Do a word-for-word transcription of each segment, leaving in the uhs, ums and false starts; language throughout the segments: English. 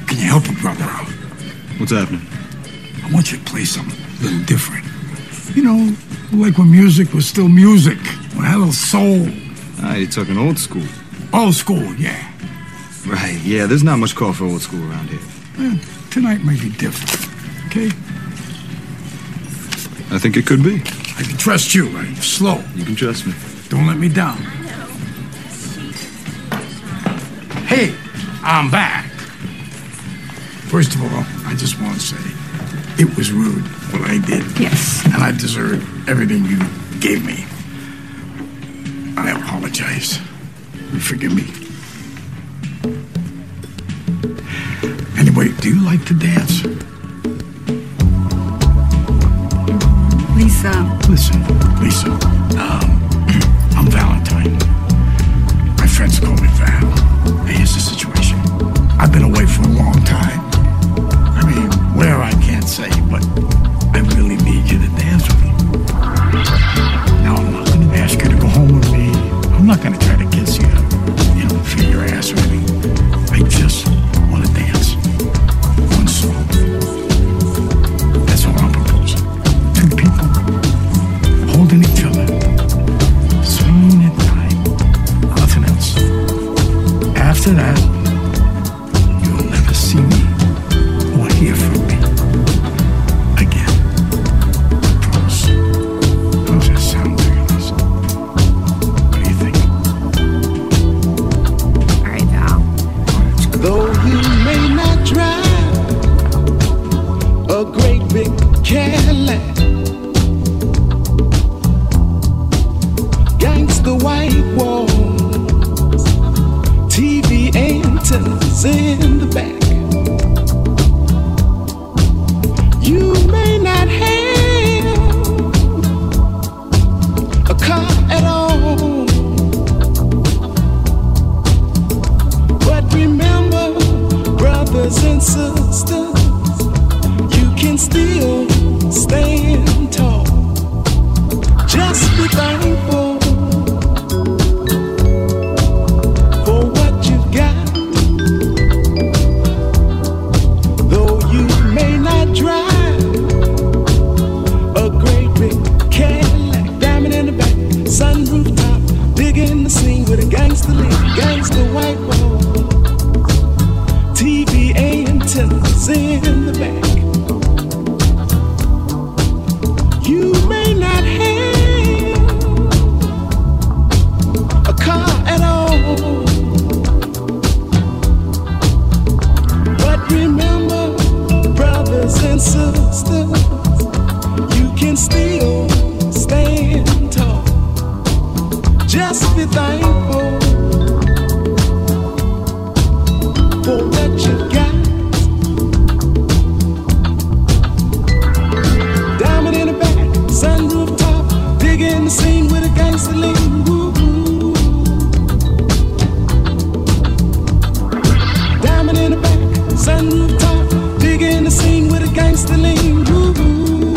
Can you help a brother out? What's happening? I want you to play something a little different. You know, like when music was still music. When it had a little soul. Ah, you're talking old school. Old school, yeah. Right, yeah, there's not much call for old school around here. Eh, tonight might be different, okay? I think it could be. I can trust you, right? Slow. You can trust me. Don't let me down. Hey, I'm back. First of all, I just want to say, it was rude what I did. Yes. And I deserve everything you gave me. I apologize. You forgive me. Anyway, do you like to dance? Lisa. Listen, Lisa. Um, I'm Valentine. My friends call me Val. Hey, here's the situation. I've been away for a long time. I mean, where I can't say, but I really need you to dance with me. Now, I'm not going to ask you to go home with me. I'm not going to try to kiss you, you know, feel your ass or anything. I just want to dance. One song. That's all I'm proposing. Two people holding each other, swinging at night. Nothing else. After that, you'll never see me or hear from me again. I promise. How's that sound to you, Lisa? What do you think? All right, Val. Though you may not drive a great big Cadillac, gangsta white walls, T V antennas in the back. You may not have a car at all, but remember, brothers and sisters, you can still stand tall. Just be thankful for what you've got. Though you may not drive a great big Cadillac, diamond in the back, sunroof top, big in the scene with a gangster lean, gangster white wall, T V antennas in the back. You may not have a car at all, but remember, brothers and sisters, you can still stand tall. Just be thankful for what you got. Diamond in the back, sunroof top, big in the scene with a gangster lean. Woo, woo. Diamond in the back, sunroof top, big in the scene with a gangster lean. Woo, woo.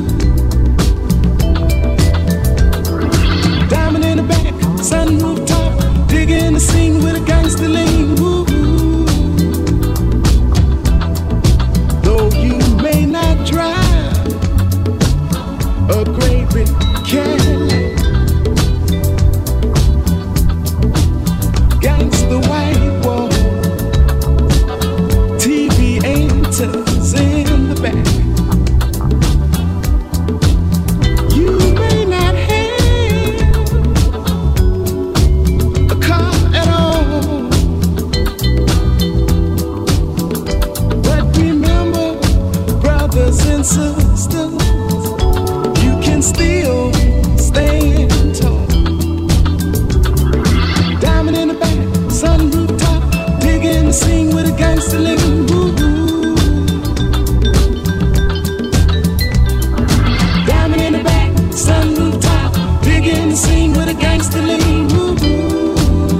Diamond in the back, sunroof top, big in the scene with a gangster lean. Woo, woo. Though you may not drive a great big Cadillac, gangsta white wall, T V antennas in the back. You may not have a car at all, but remember, brothers and sisters, you can still stand tall. Diamond in the back, sunroof top, big in the scene with a gangster lean. Woo, woo. Diamond in the back, sunroof top, big in the scene with a gangster lean. Woo, woo.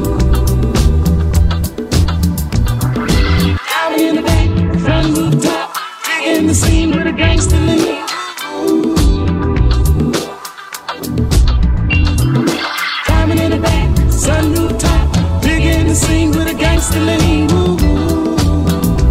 Diamond in the back, sunroof top, big in the scene with a gangster lean. Diamond in the back, sunroof top, big in the scene with a gangster lean. Woo, woo.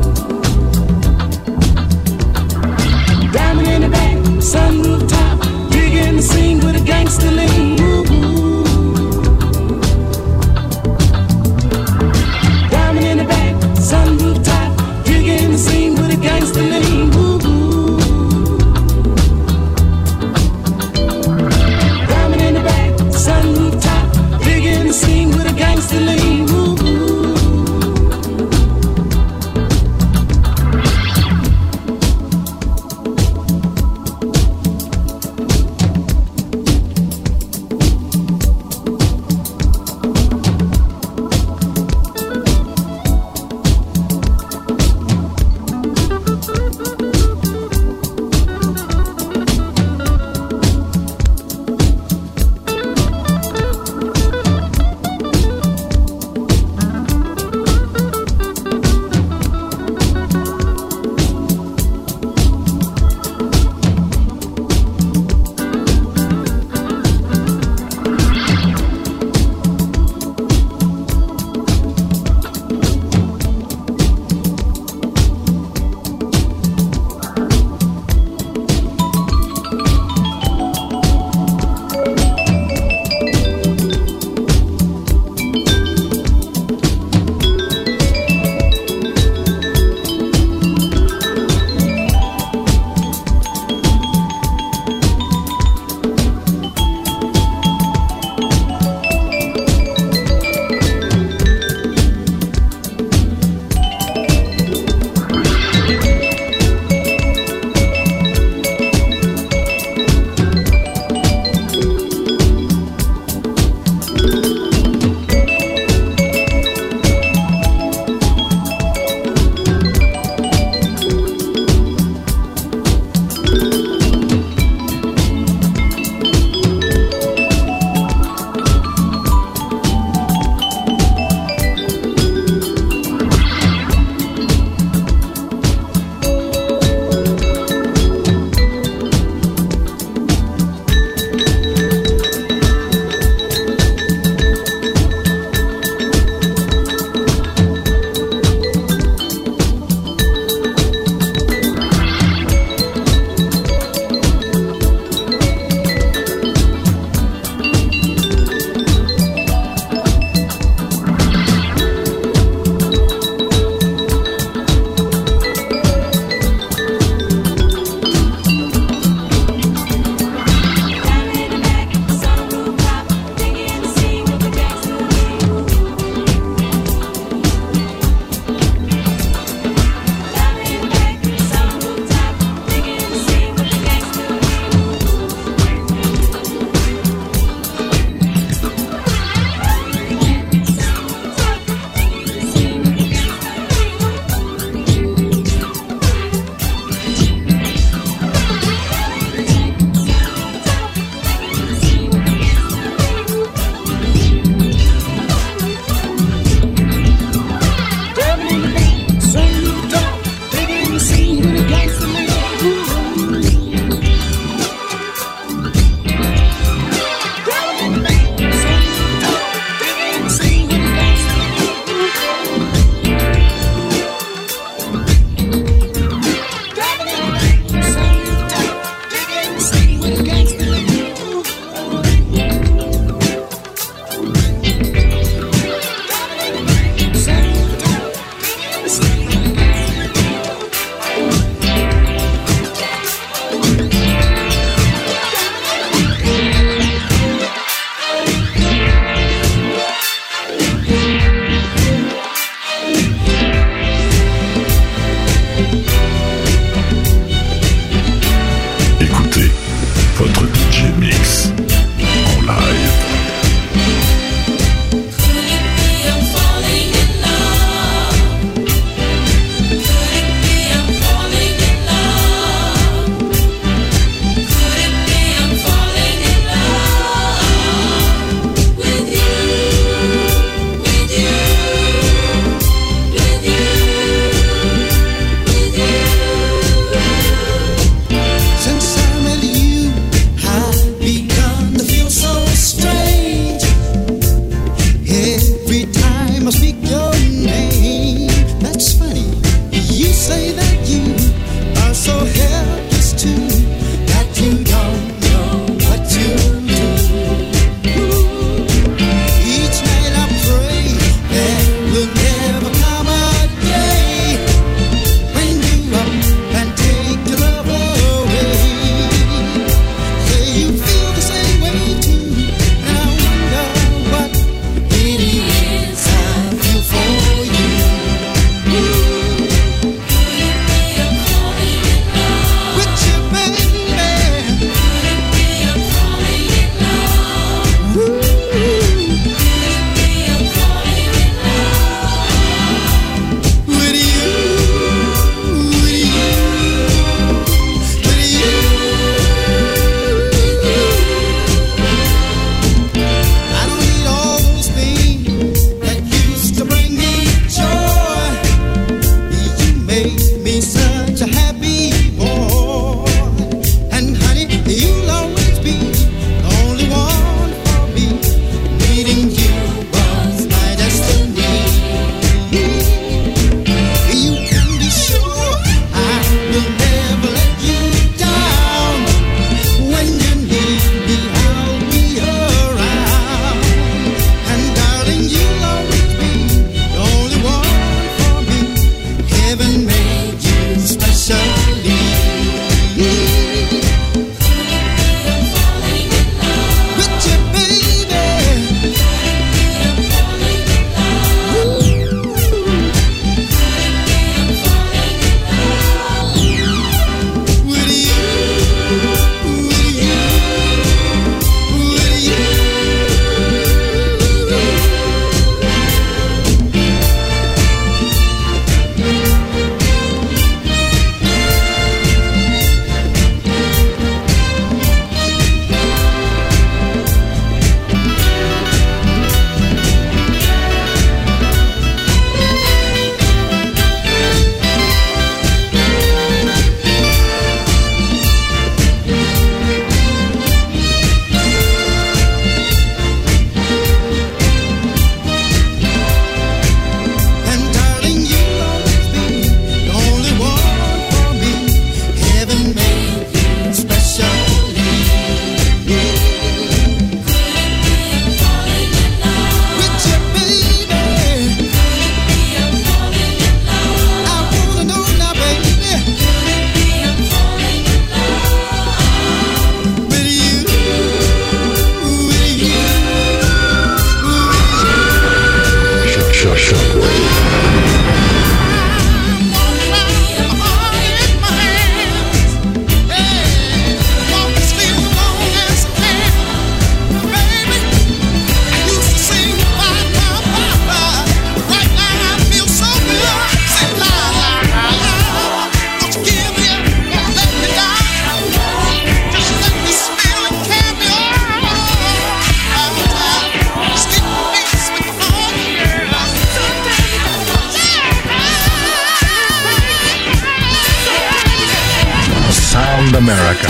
Around America.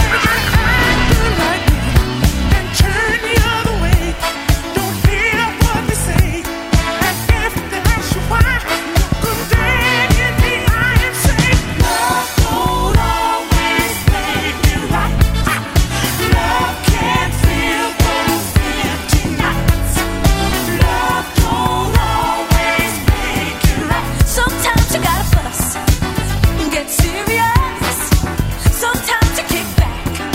Sometimes you gotta fuss and get serious. Sometimes you kick back.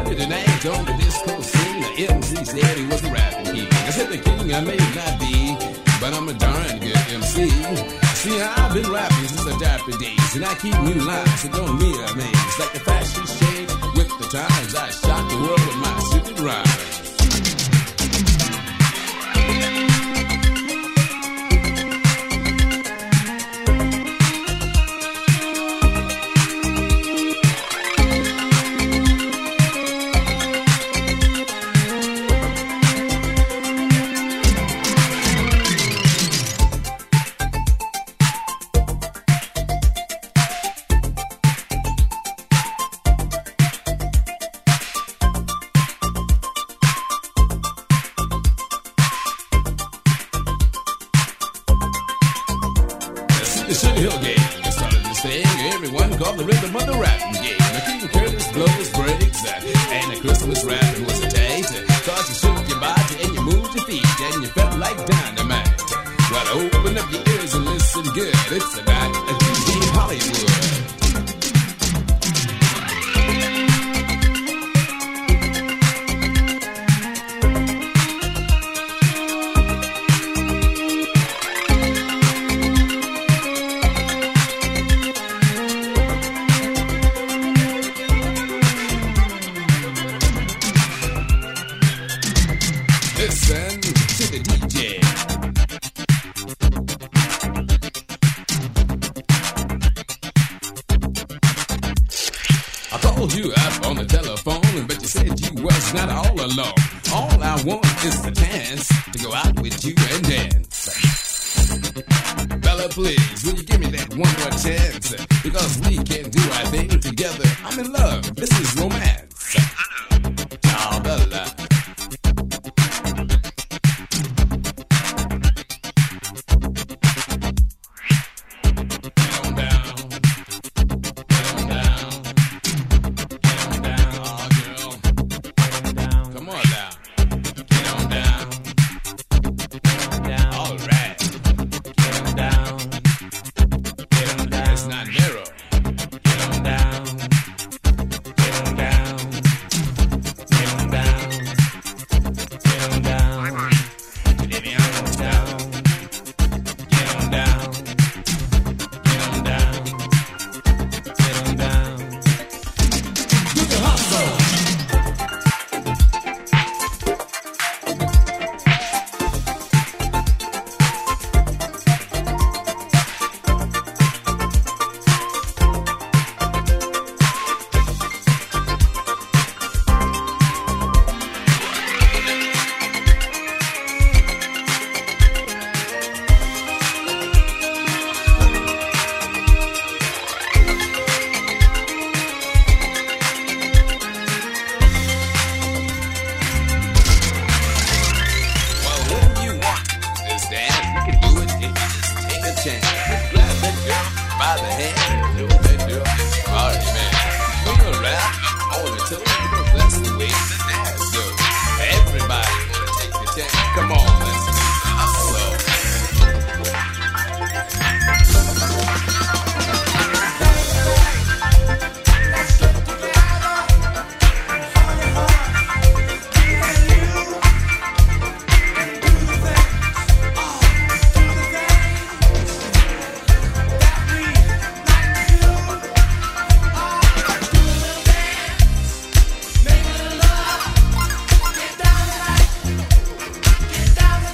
started an act on the disco scene. The M C said he was a rapping king. I said the king I may not be, but I'm a darn good M C. See, I've been rapping since the dapper days, and I keep new lines that don't mean a maze. Like the fashion shade with the times, I shock the world with my stupid rhymes. The Sugar Hill Gang started this thing. Everyone called the rhythm of the rapping game. The King Curtis blows breaks, uh, and the Christmas rapping was a taste. Cause you shook your body and you moved your feet, and you felt like dynamite. Well, open up your ears and listen good. It's a night at D J Hollywood. Listen to the D J. I called you up on the telephone, but you said you was not all alone. All I want is the chance to go out with you and dance. Bella, please, will you give me that one more chance? Because we can do our thing together. I'm in love. This is romance. Oh, Bella. Down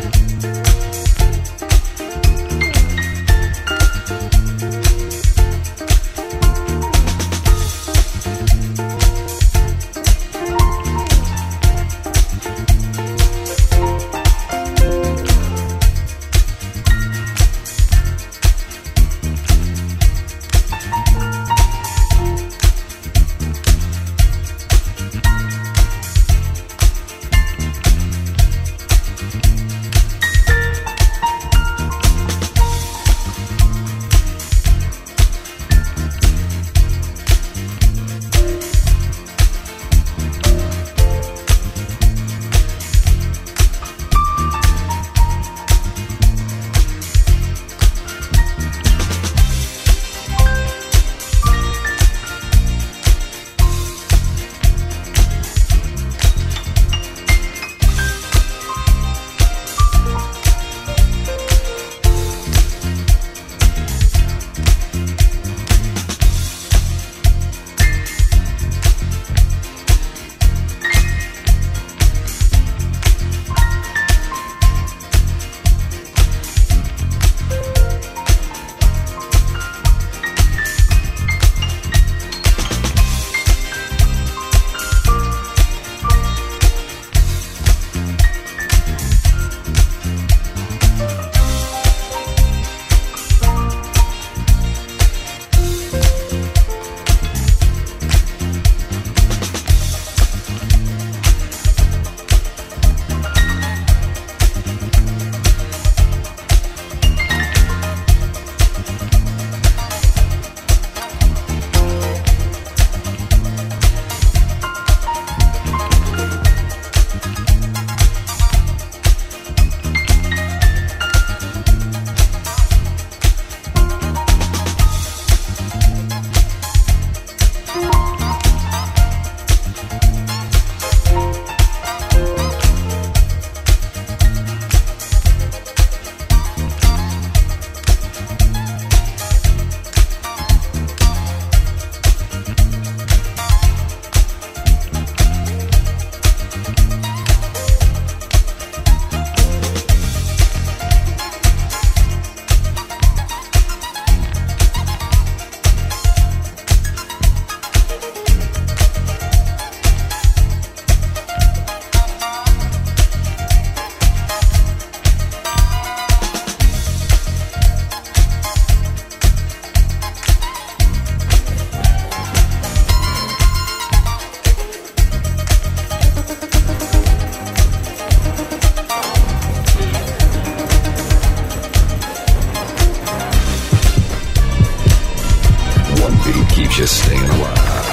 just staying alive.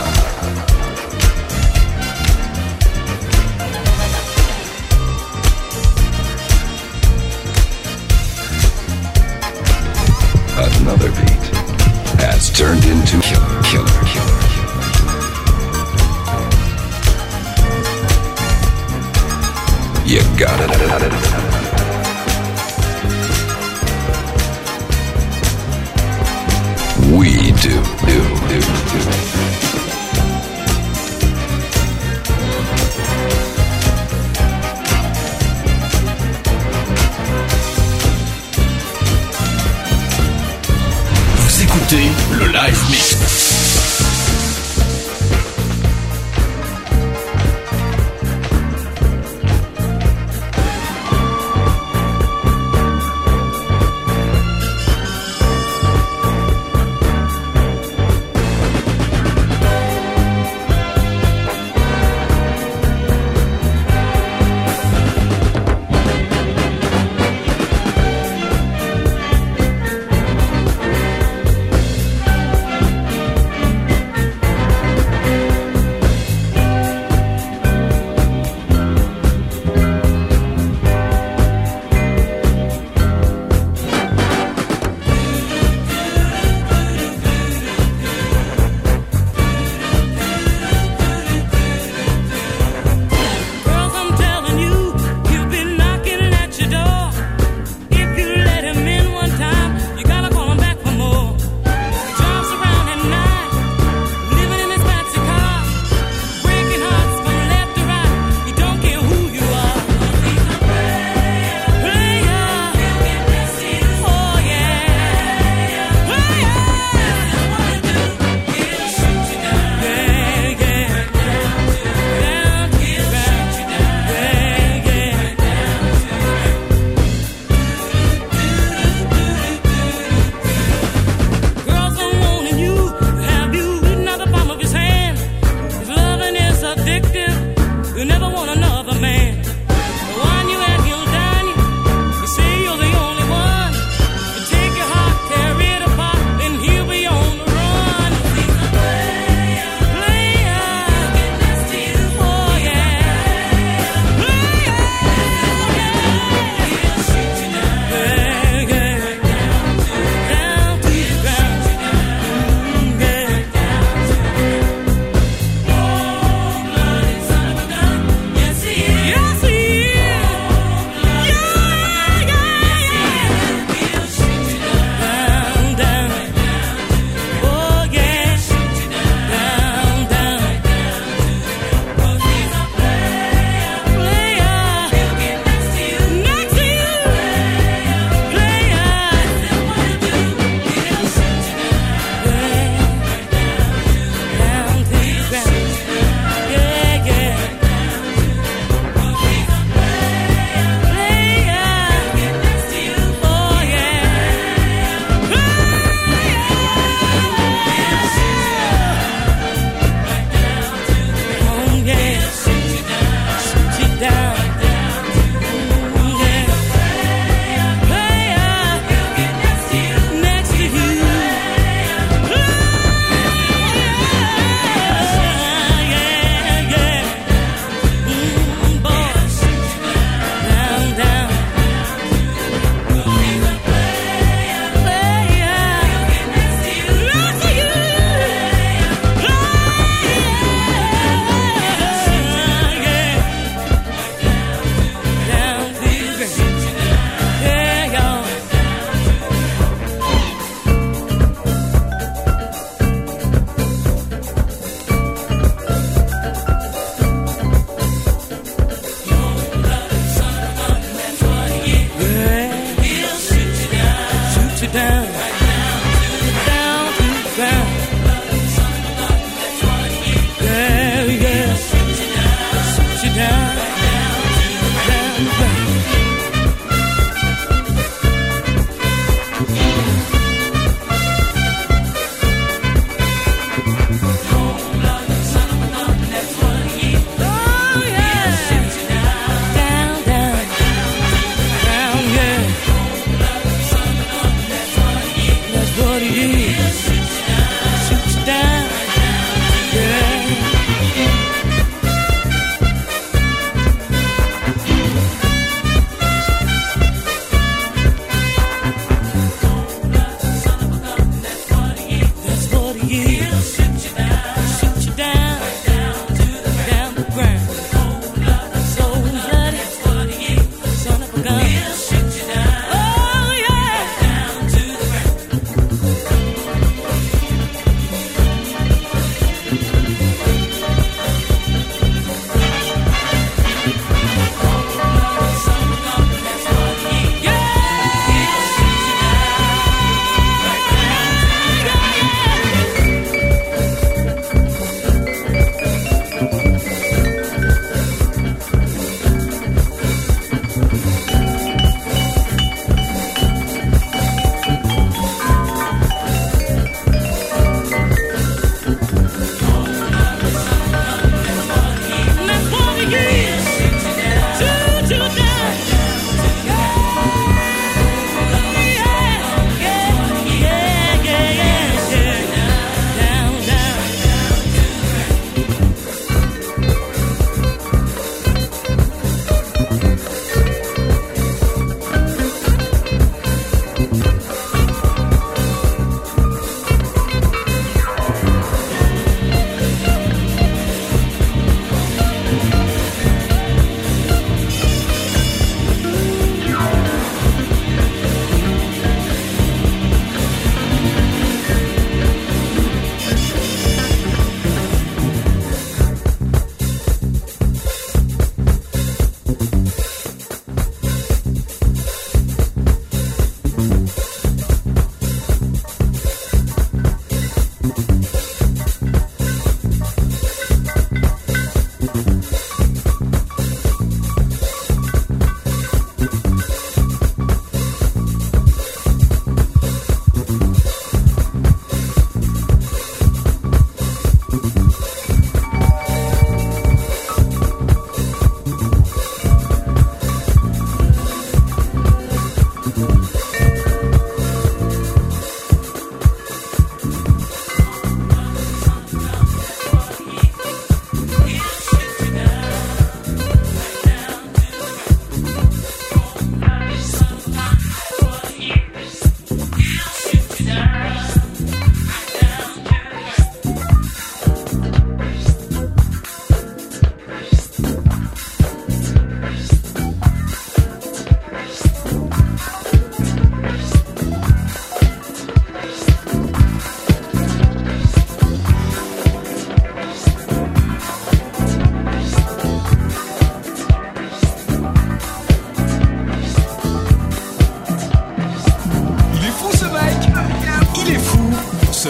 Another beat has turned into killer, killer, killer. You got it. We do, do, do, do. Vous écoutez le live mix.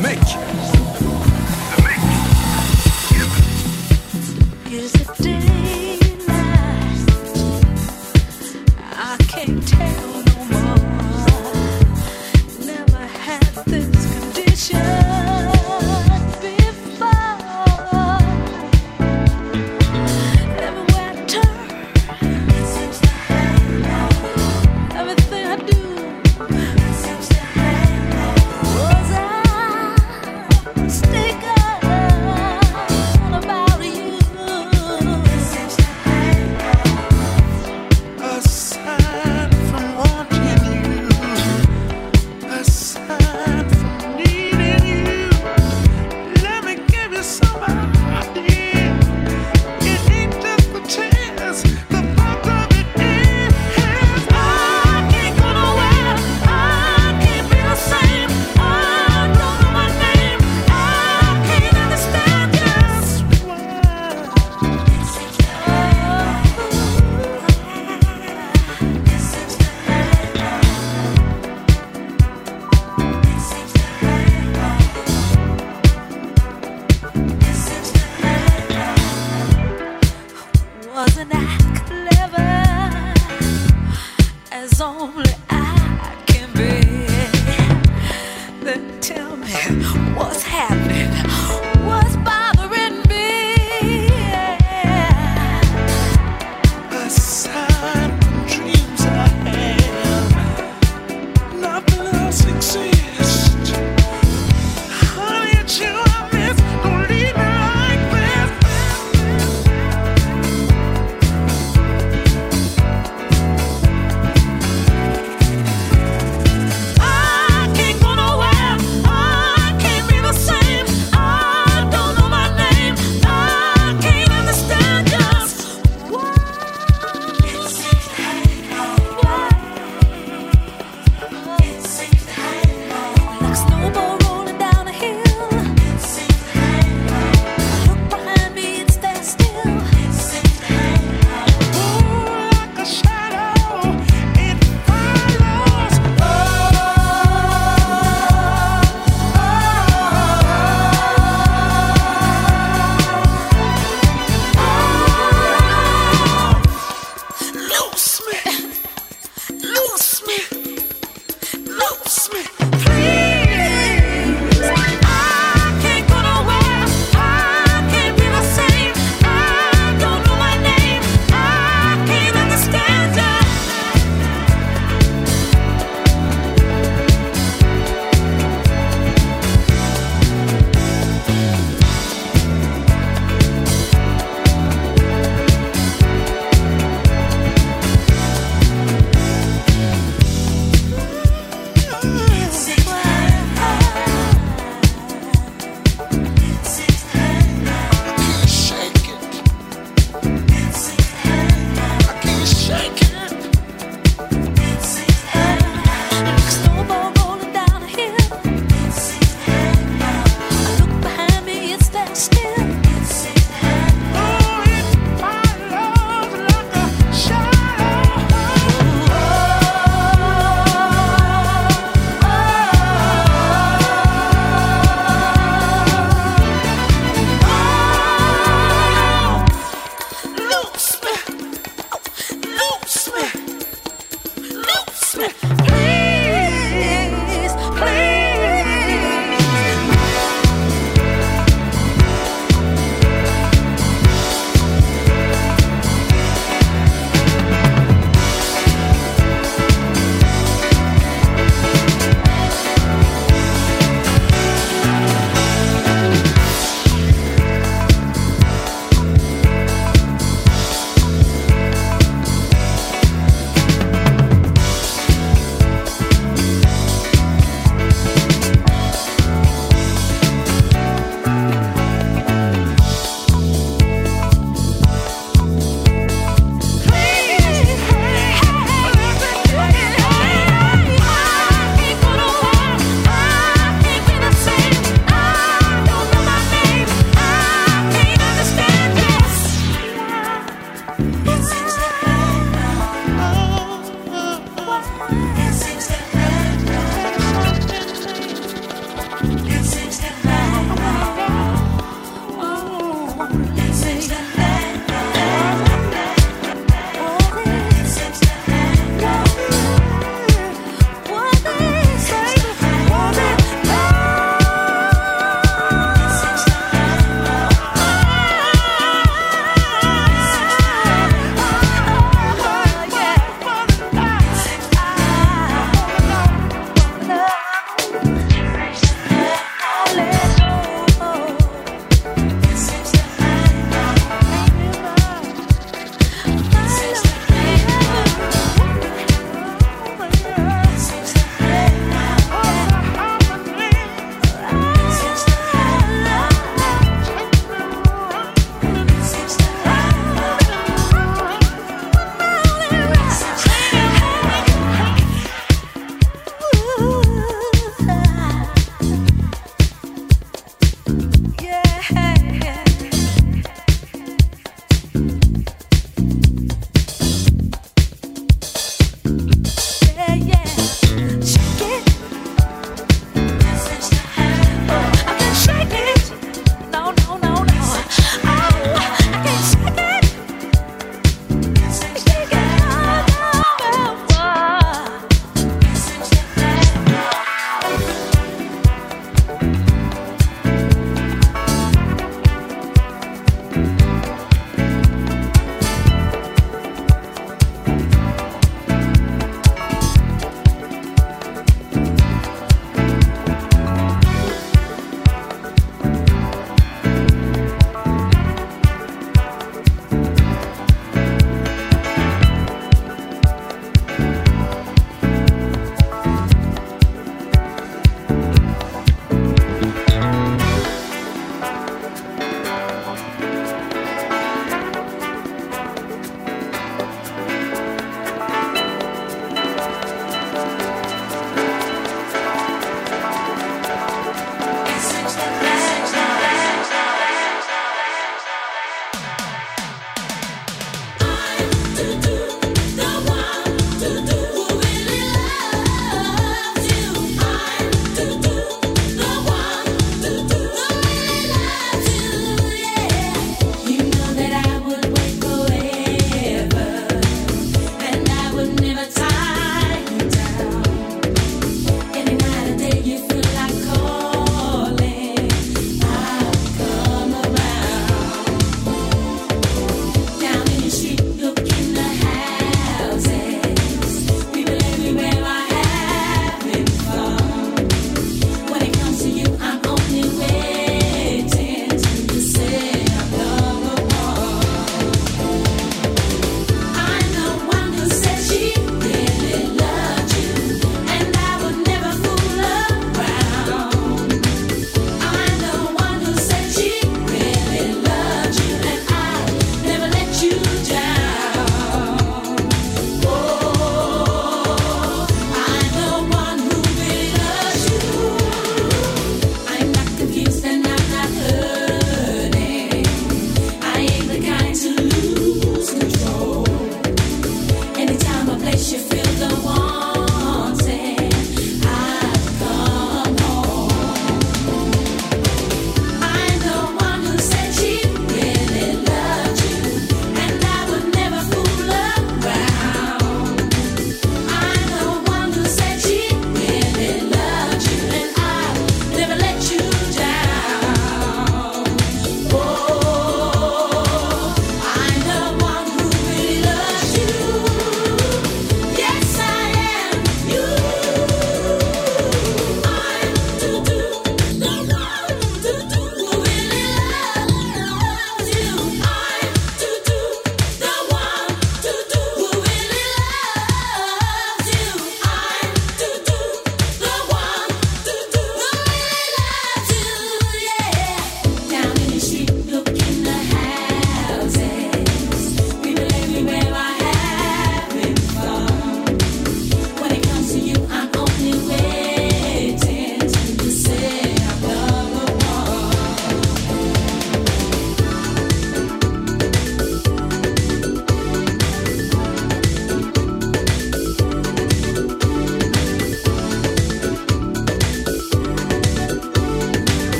mec. Is it daylight? I can't tell no more. Never had this condition before. Everywhere I turn, it seems to halo. Everything I do, it seems to halo. Was I mistaken about you? It seems to halo. Aside from wanting you, aside from needing you, let me give you some idea. It ain't just the chance, the fact of it is, I can't go nowhere, I can't be the same, I don't know my name, I can't understand just why. It seems to halo. It seems to halo. It seems to halo. It seems to halo. Wasn't I clever as only I can be? Then tell me what's happening, what's bothering me? Aside from dreams I have, nothing else exists. Honey, it's you I miss. Don't leave me like this. I can't go nowhere. I can't be the same. I don't know my name. I can't understand just why. It seems to halo. It seems to halo. Like a snowball rolling down a hill. It seems to halo. I look behind me, it stands still. It seems to halo. Ooh, like a shadow, it follows. Loose me, loose me, loose me, please. I can't go nowhere. I can't be the same. I don't know my name. I can't understand just. It seems to halo. It seems to halo. I can't shake it. It seems to halo. I can't shake it. It seems to halo. Like a snowball rolling down a hill. It seems to halo. I look behind me, it stands still. It seems to halo. Oh, it follows like a shadow. Loose me, loose me, loose me, please, please. It seems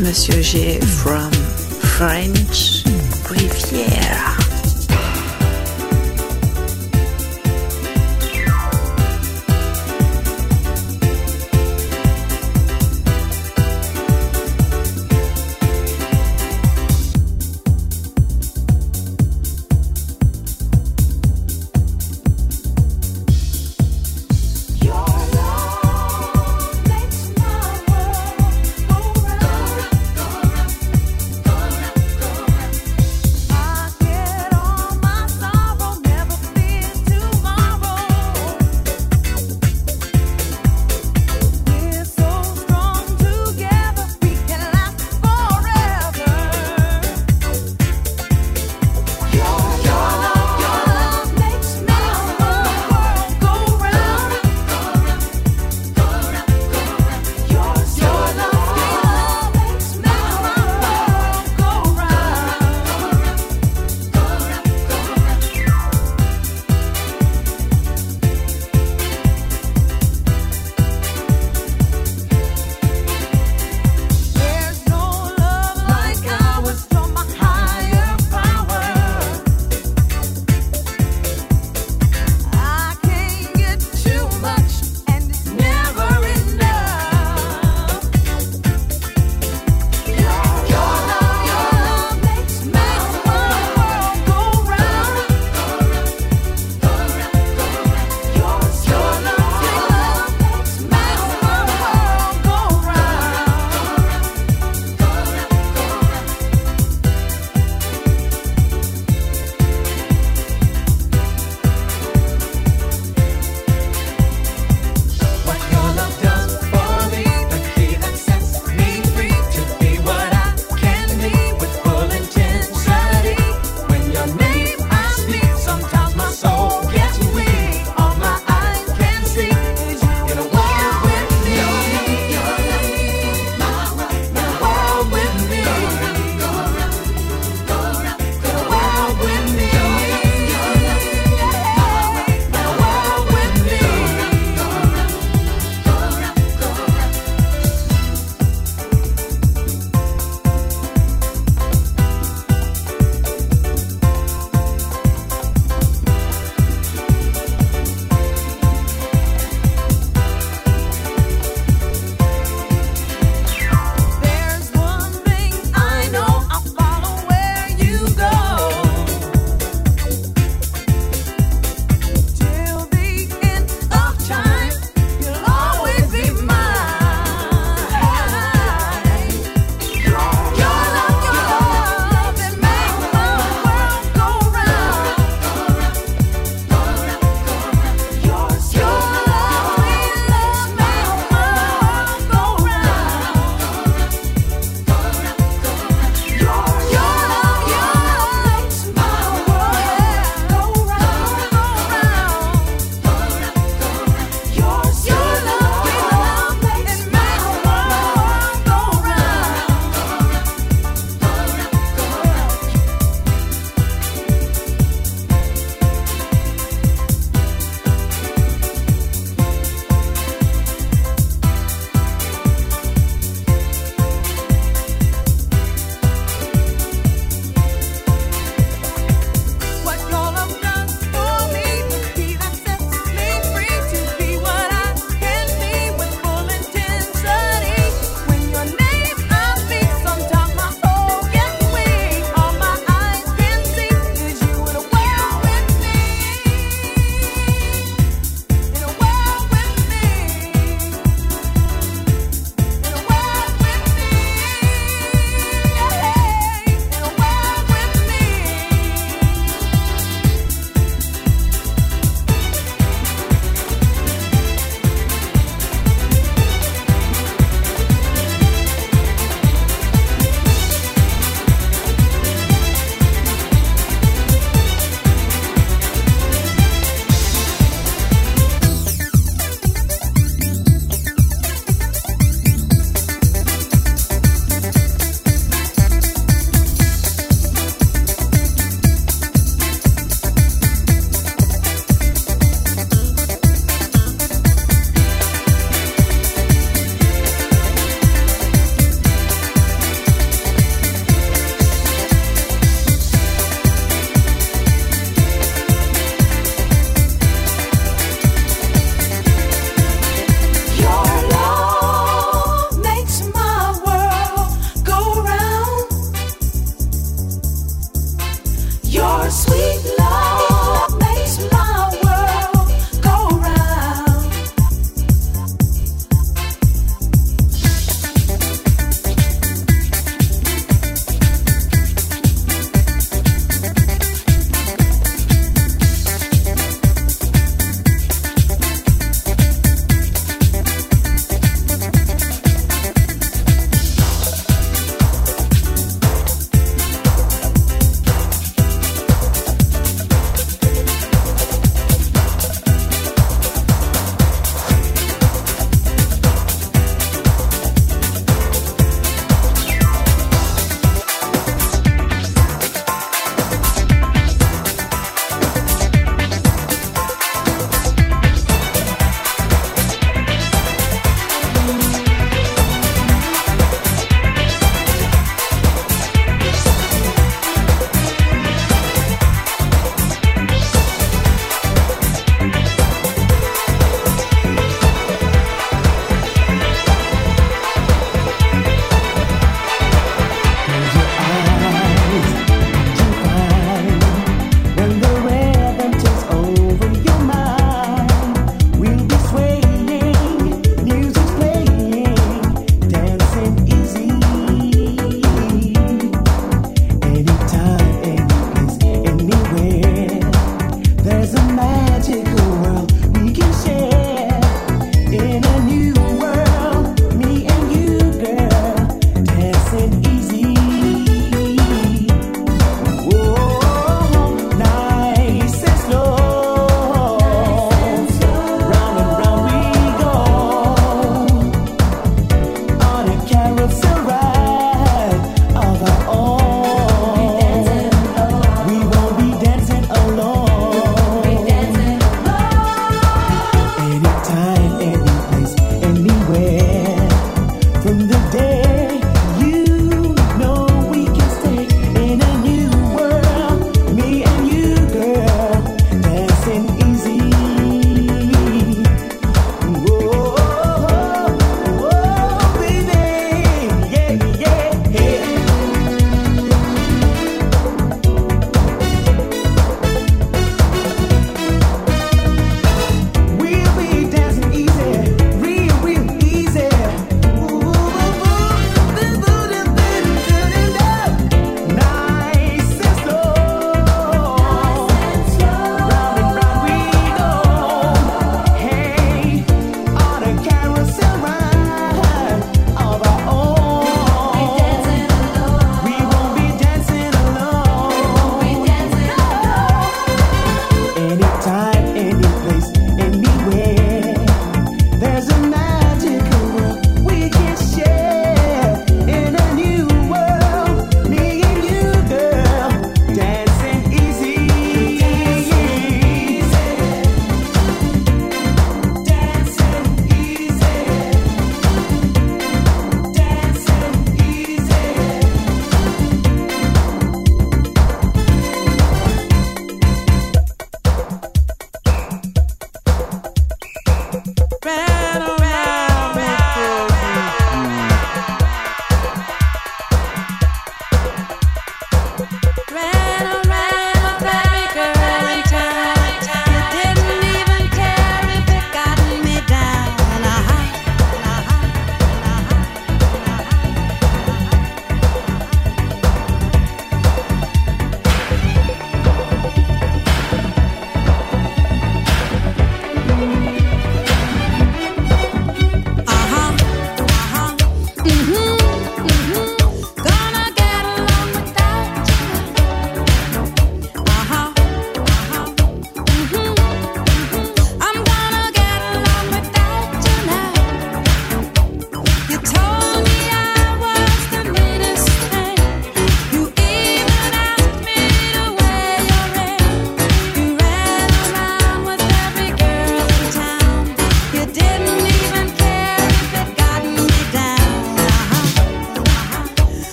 Monsieur G from French Riviera. Yeah.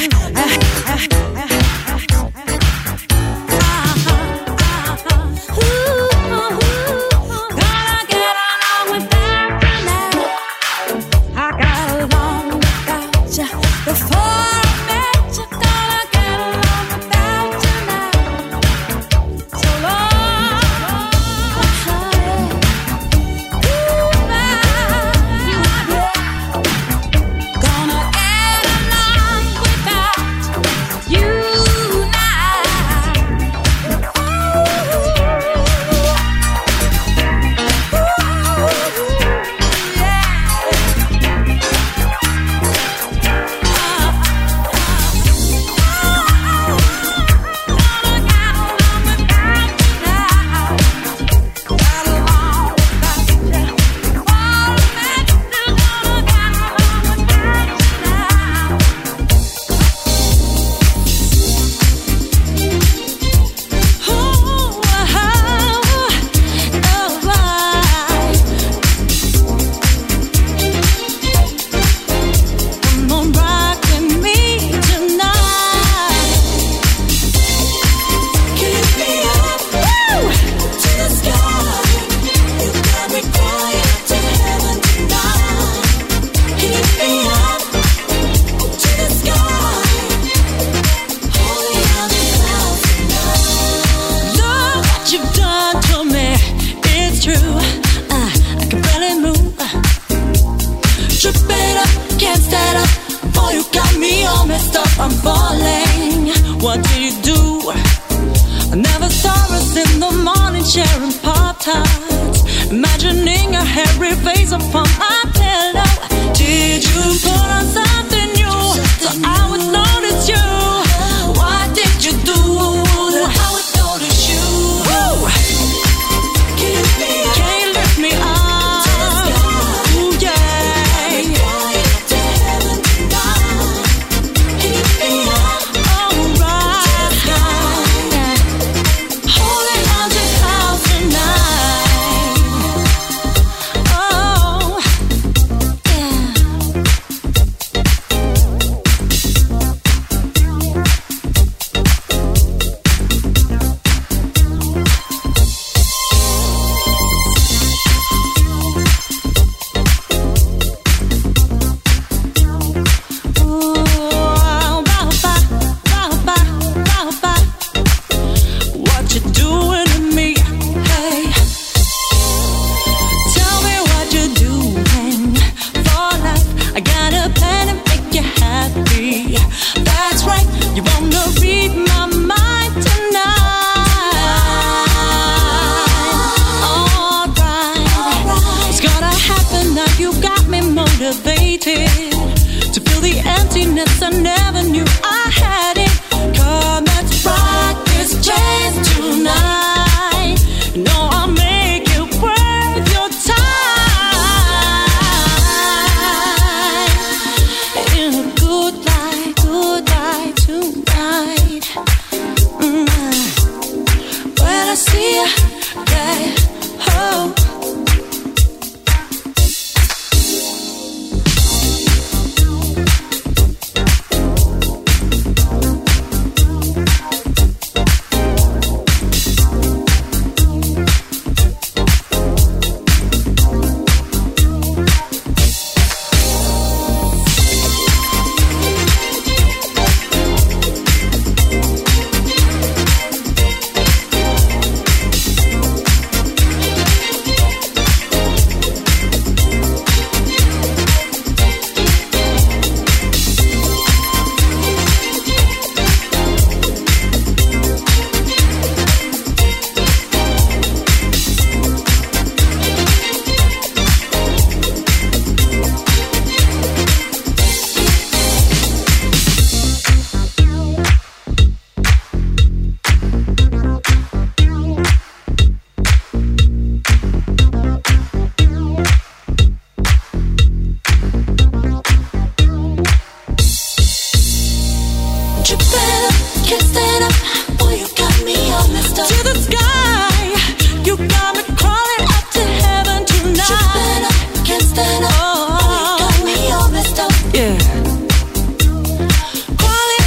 Calling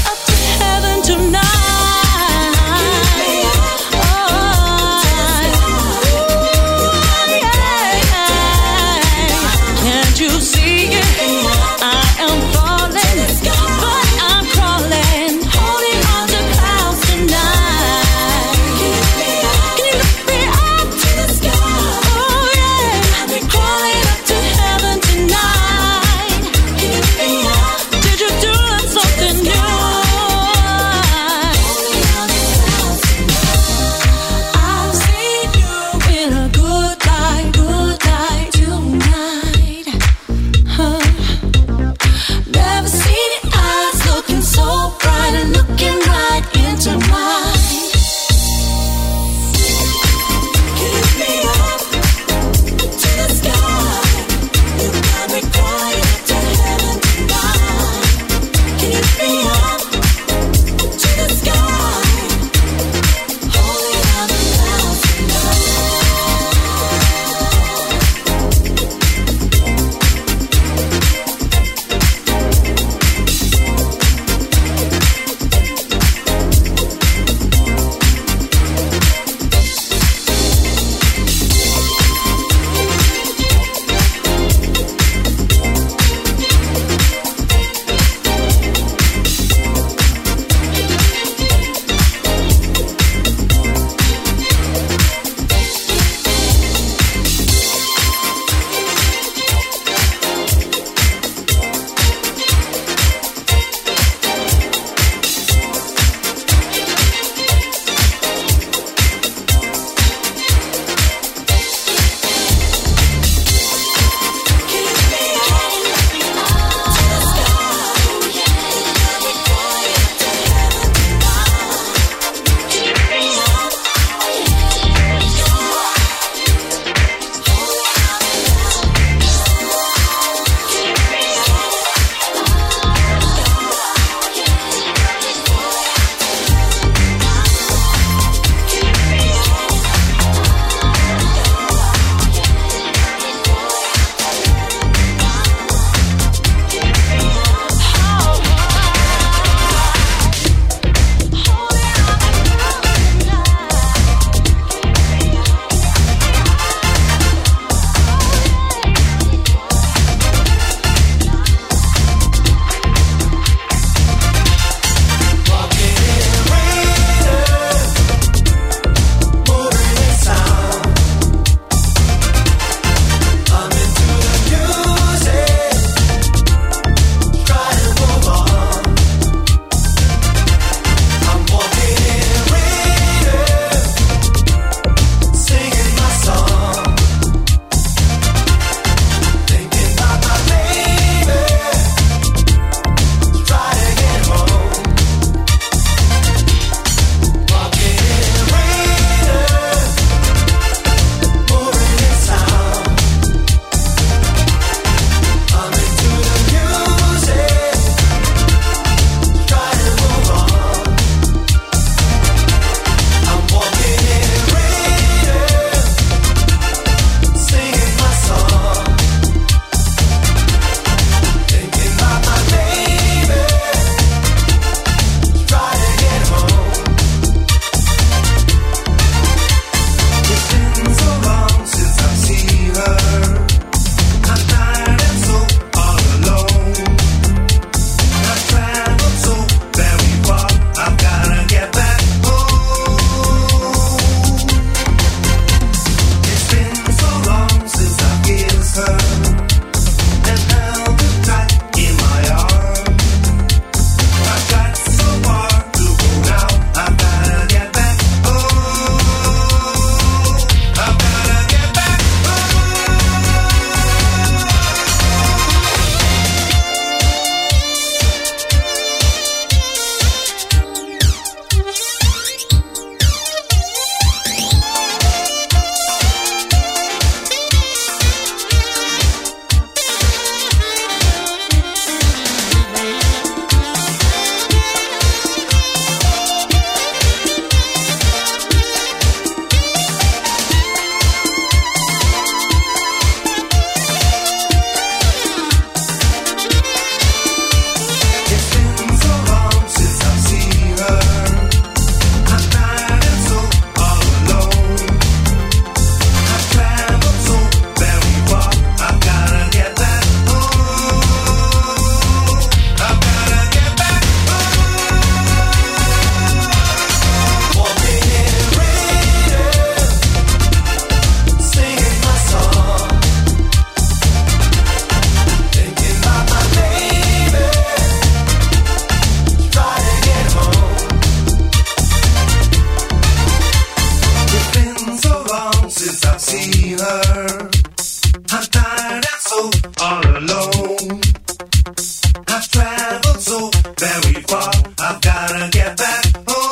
very far. I've gotta get back home.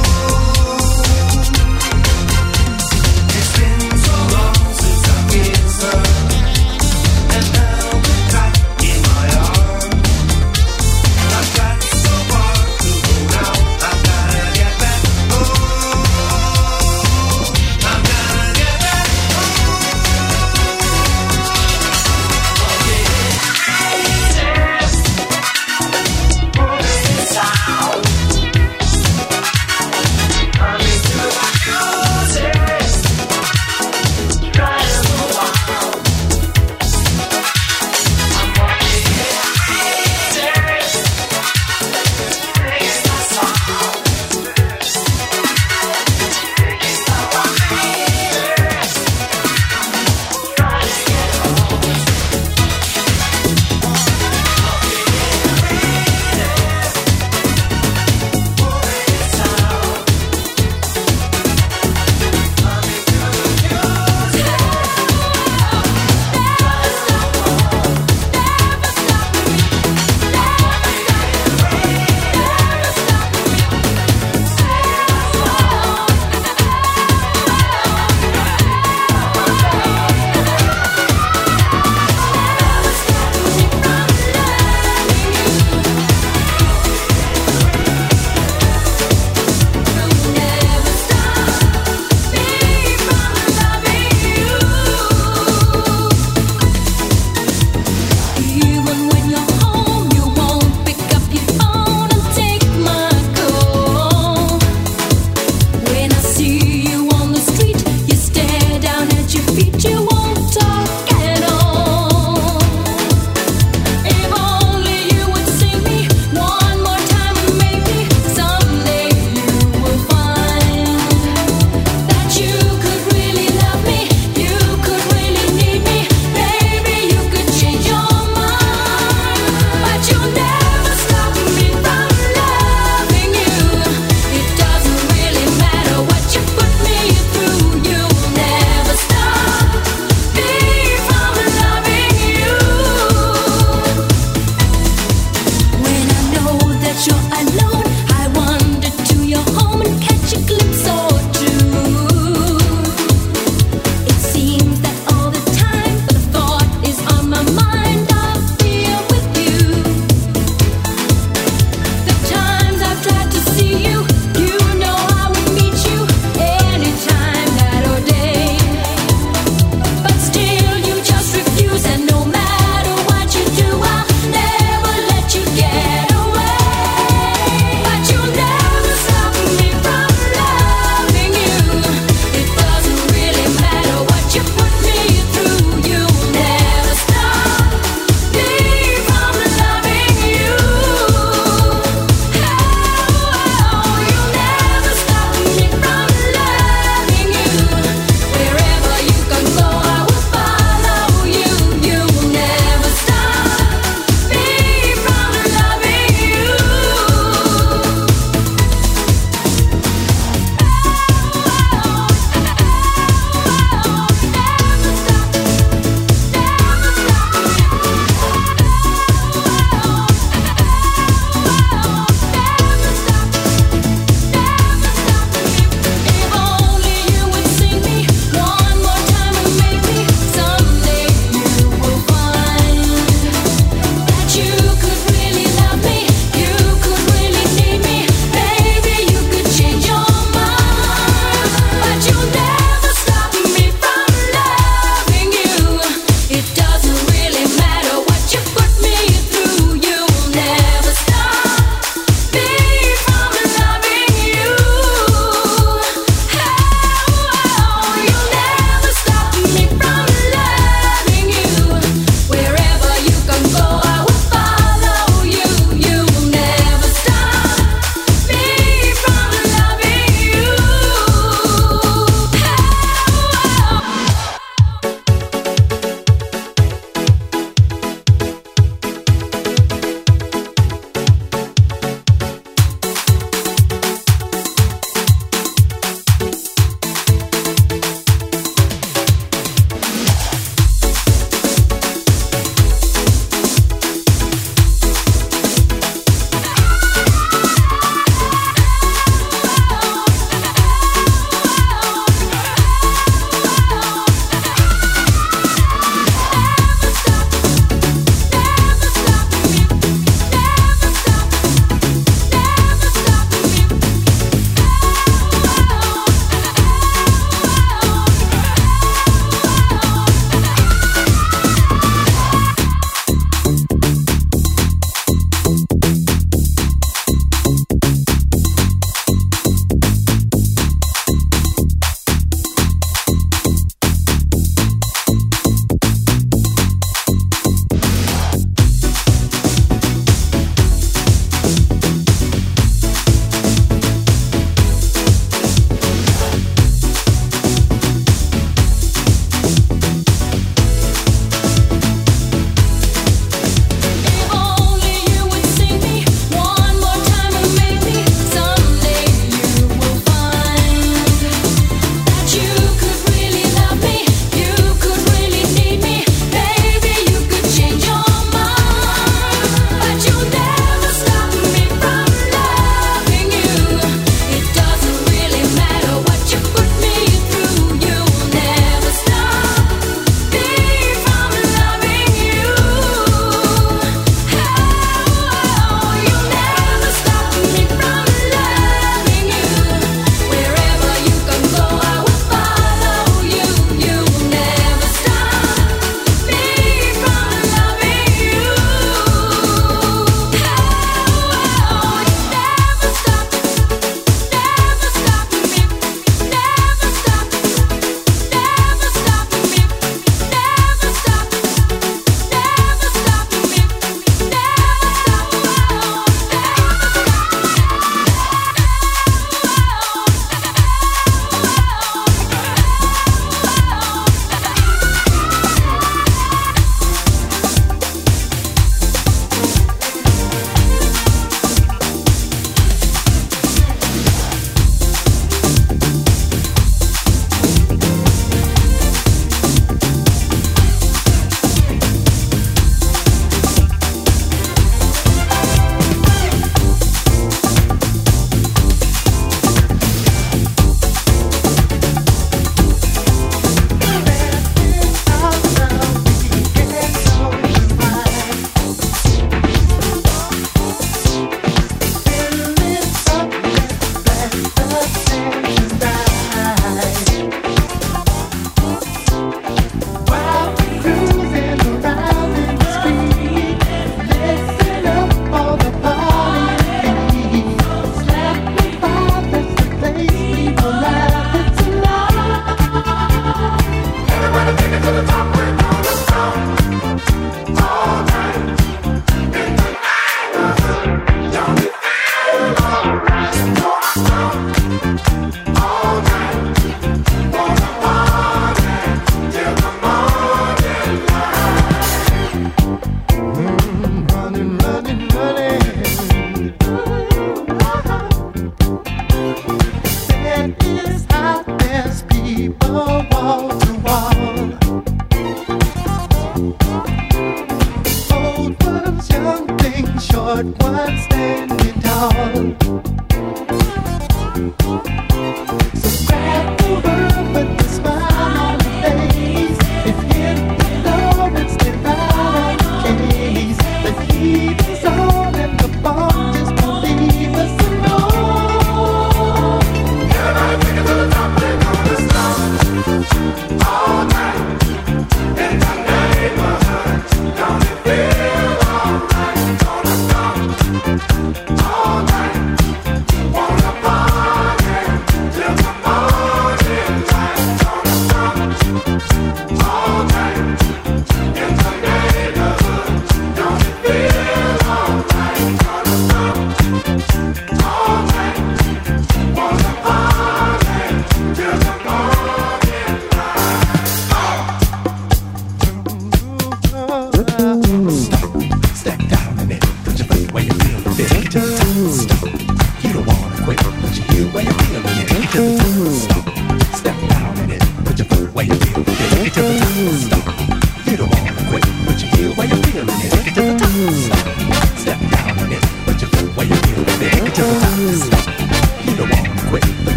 It's been so long since I've kissed her and held her tight in my arms. I've got so far to go now. I've gotta get back home. I've gotta get back home. Oh, yeah.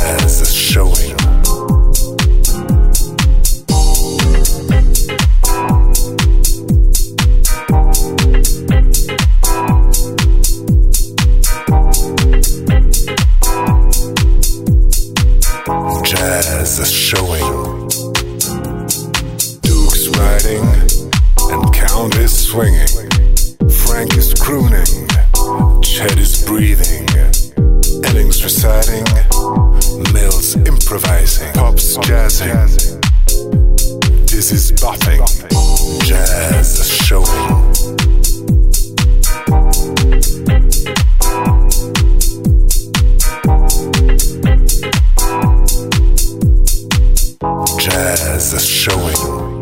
Jazz is showing. Jazz is showing. Duke's riding and Count is swinging. Frank is crooning, Chet is breathing. Elling's reciting, Mills improvising. Pop's jazzing, Dizzy's bopping. Jazz is showing. Jazz is showing.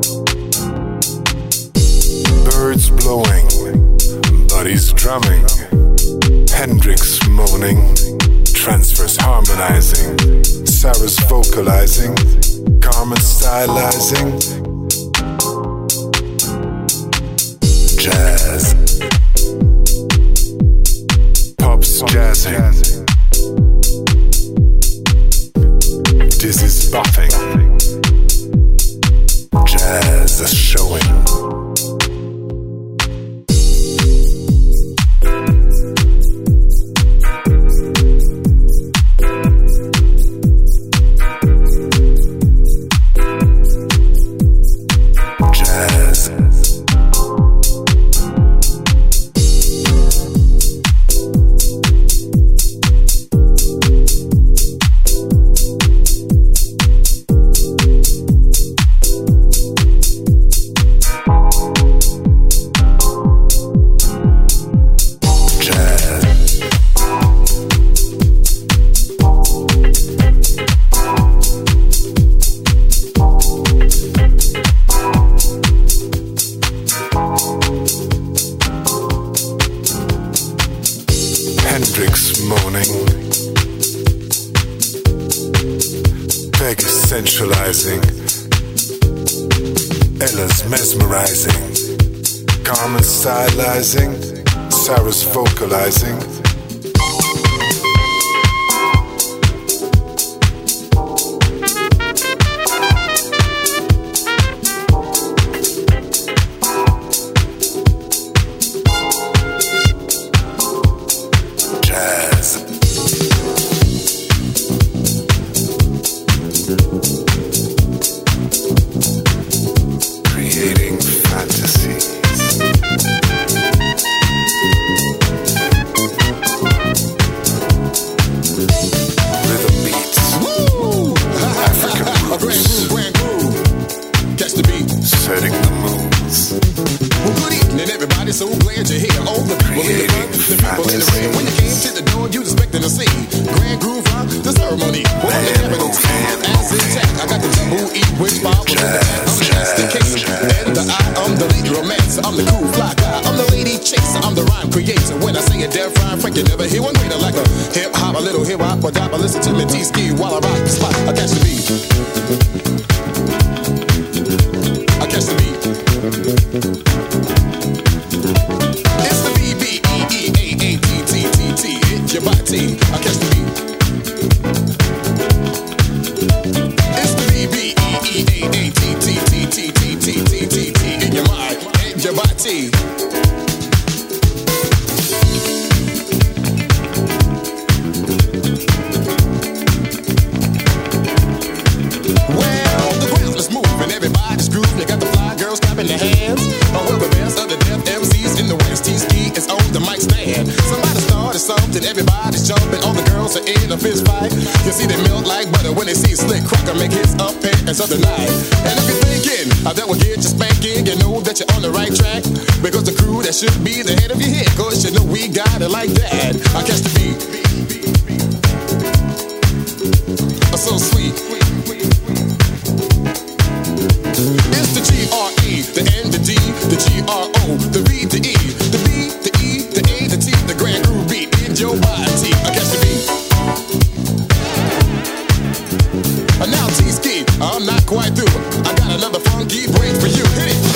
Birds blowing, Buddy's drumming, Hendrix moaning, Transfers harmonizing, Sarah's vocalizing, Carmen stylizing. Jazz. Pop's jazzing, Dizzy's bopping. Jazz is showing. Ella's mesmerizing, Carmen stylizing, Sarah's vocalizing. Should be the head of your head, cause you know we got it like that. I catch the beat. So sweet. It's the G R E, the N, the D, the G R O, the V, the E, the B, the E, the A, the T, the grand groove beat in your body. I catch the beat. Now T-Ski, I'm not quite through. I got another funky break for you. Hit it.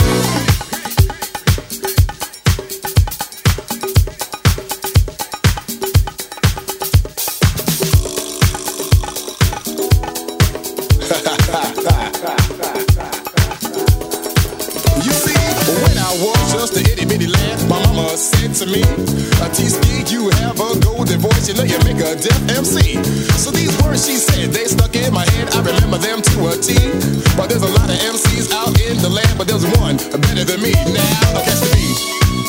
You see, when I was just a itty bitty lad, my mama said to me, T-Ski, you have a golden voice, you know you make a deaf M C. So these words she said, they stuck in my head, I remember them to a T. But there's a lot of M Cs out in the land, but there's one better than me. Now, catch the beat.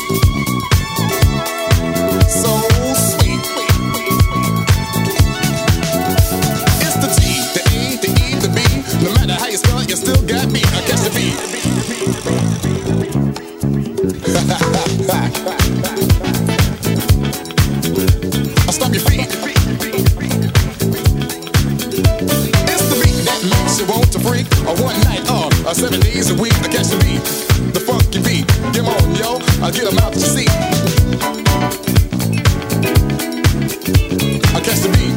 So sweet. It's the T, the E, the E, the B. No matter how you spell it, you still got me. I catch the beat. I'll stop your feet. It's the beat that makes you want to freak. A one night, uh, uh, seven days a week. I catch the beat, the funky beat. Come on, yo, I get them out your seat. I catch the beat.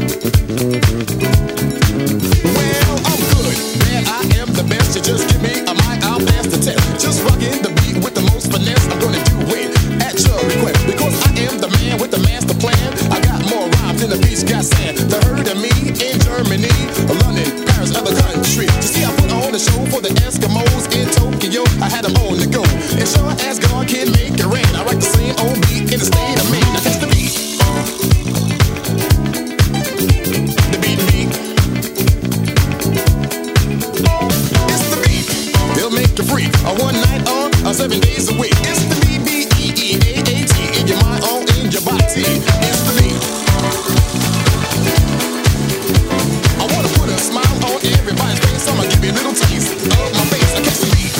Well, I'm good, man, I am the best. You just give me a mic, I'll pass the test. Just rockin' the beat with the most finesse. I'm gonna do it at your request, because I am the man with the master plan. I got more rhymes than the beach got sand. The heard of me in Germany, London, Paris, other countries. You see, I put on a show for the Eskimos in Tokyo. I had them on the go. And sure as God can make it rain, I write the same old beat in the state of Maine. Now catch the beat. The beat, beat. It's the beat. They'll make you free. A one night on, a seven days a week. It's the B B E E A A T. In your mind, on in your body. It's the beat. I wanna put a smile on everybody's face. So I'ma give you a little taste of my face. I catch the beat.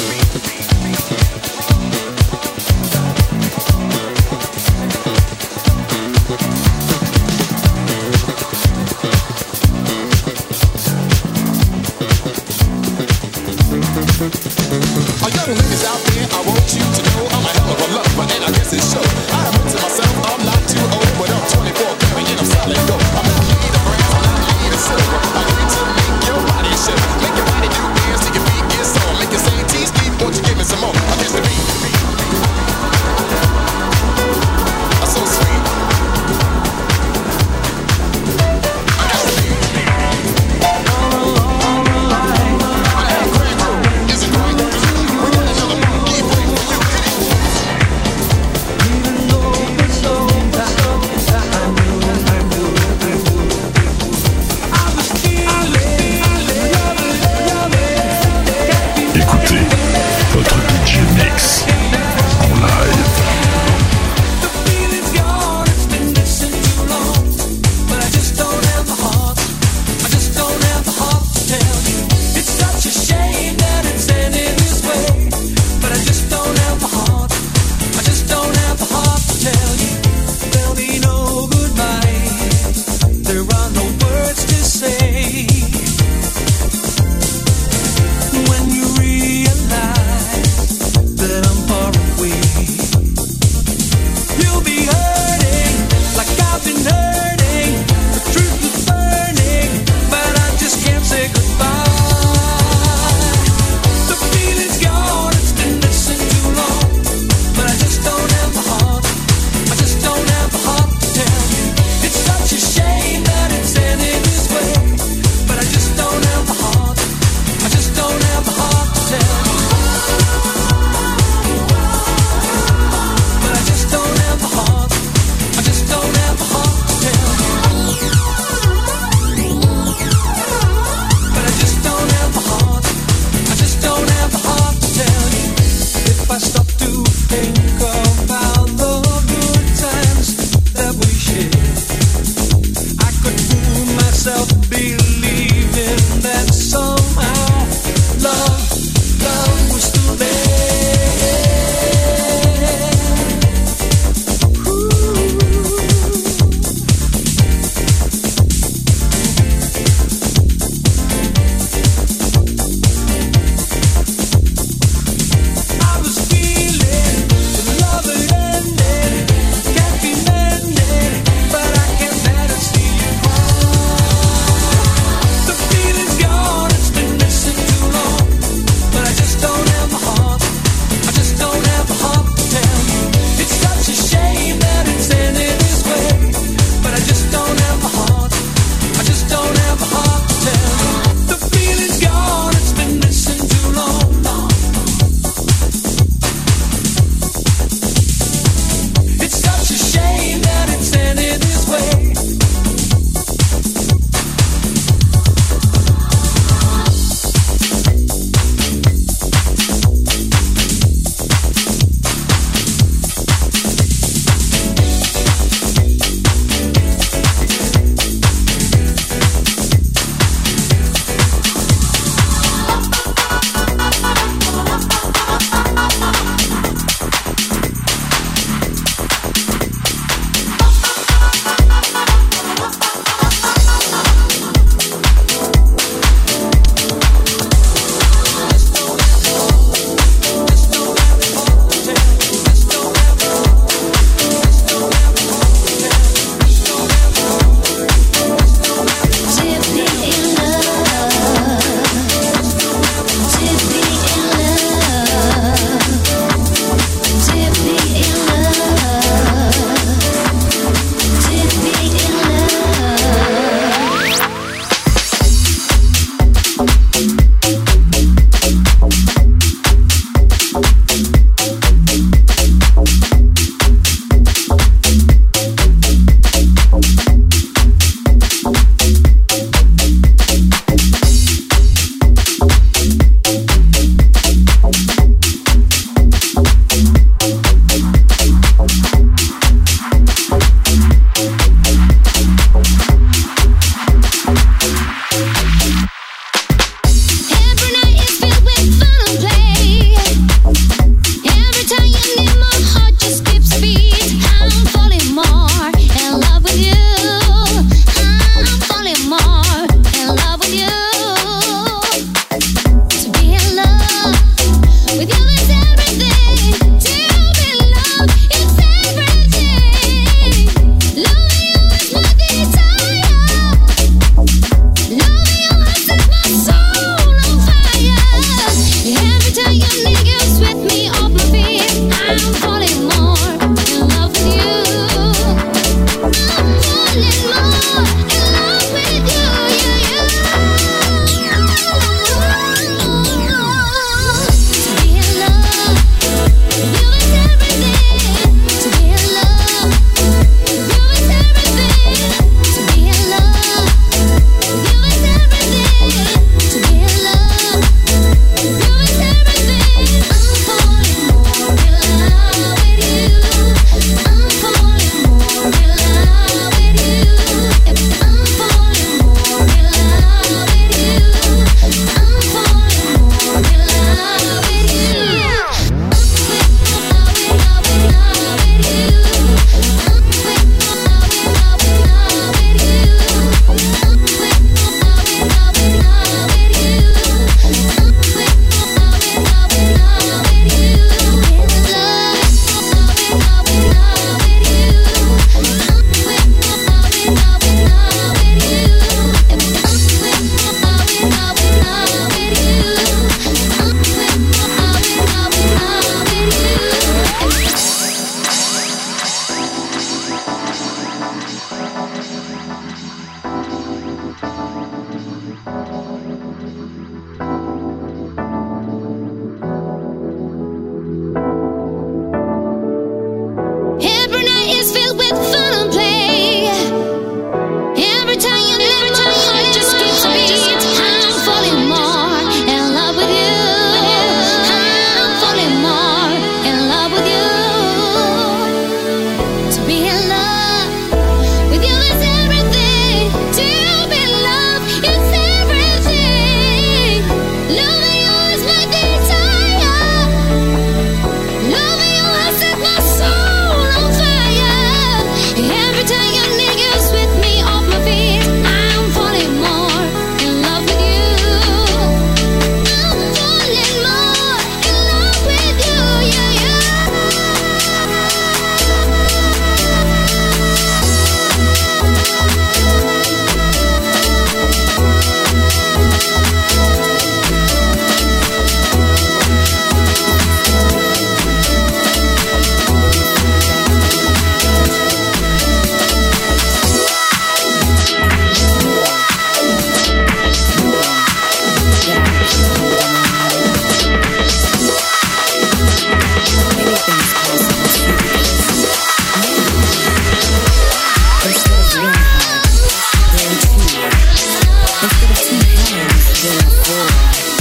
than before.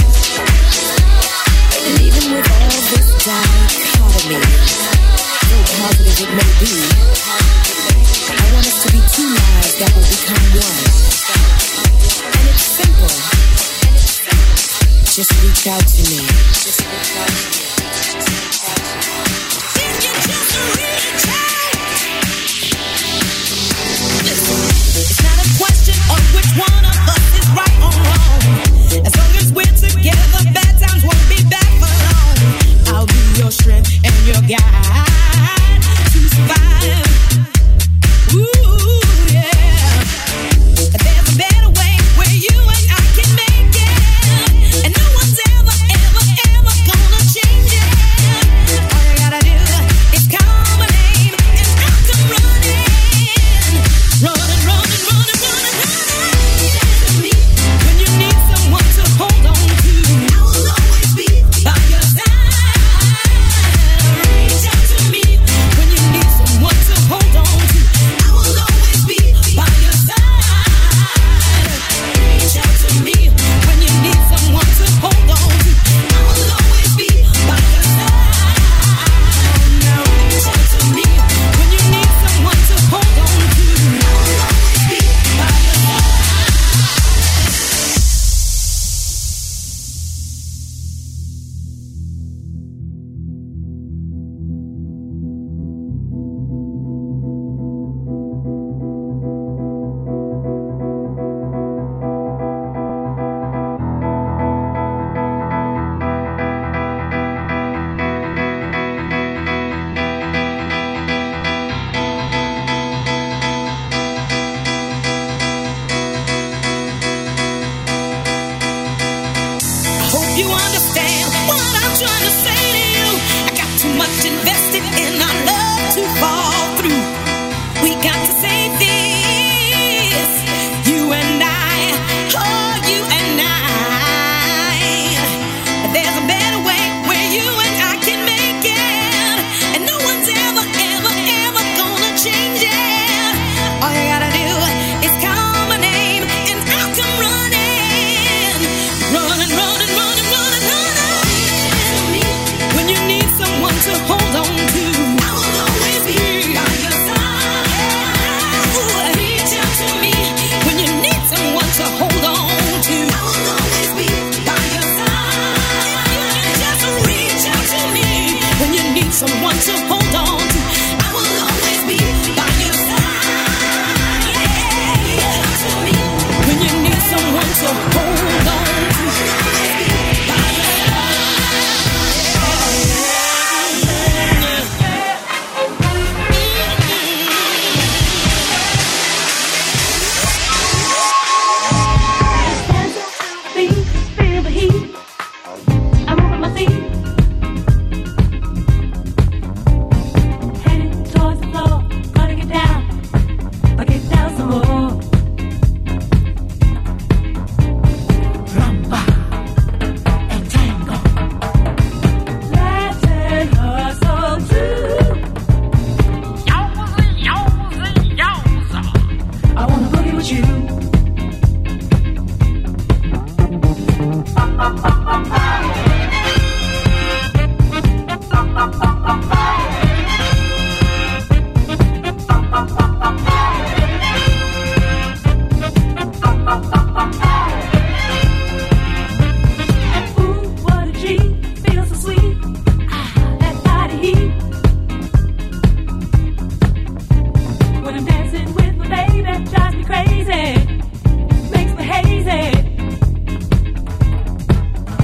And even with all this dichotomy, so positive it may be, I want us to be two lives that will become one. And it's simple. Just reach out to me. Just reach out to me. If you just reach out. Listen, it's not a question of which one of us is right or wrong. As long as we're together, bad times won't be back for long. I'll be your strength and your guide to survive. Ooh, yeah. There's a better way where you and I can make it. And no one's ever, ever, ever gonna change it. All you gotta do is call my name and I'll come running. Running, running, running, running, running. When you need someone to hold on to, I will always be by your side. Reach out to me. When you need someone to hold on to, I will always be by your side. Reach out to me. When you need someone to hold on to, I will always be by your side. Now reach out to me. When you need someone to hold on to, I will always be by your side. I hope you understand what I'm trying to say to you. I got too much invested in our love to fall through. We got to save this, you and I, oh, you and I. There's a better way where you and I can make it. And no one's ever, ever, ever gonna change it. All you gotta do is call my name and I'll come running. Running, running, running, running, running. When you need someone to hold on to, I will always be by your side. Ooh, reach out to me. When you need someone to hold on to, I will always be by your side. Just reach out to me. When you need someone to hold on to, I will always be by your side. Reach out to me. When you need someone to hold on to, by your side. Feel the heat. I'm moving my feet. Headed towards the floor. Gonna get down. I'll get down some more. Rumba and tango. Latin hustle too. Yowza, yowza, yowza. I wanna boogie with you. Ooh, what a G, feels so sweet. Ah, that body heat. When I'm dancing with my baby, drives me crazy, makes me hazy.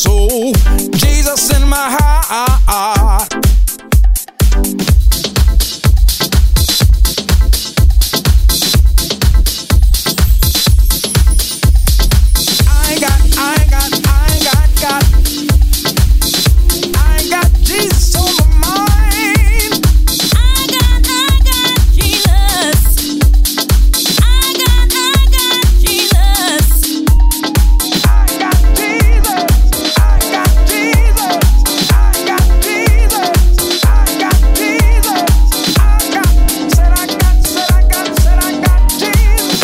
soul, Jesus in my heart. I ain't got, I ain't got, I ain't got, got. I ain't got Jesus on my mind. I got, I got Jesus. I got, I got Jesus. I got Jesus. I got Jesus. I got Jesus. I got Jesus. I got, said I got, said I got, said I got Jesus.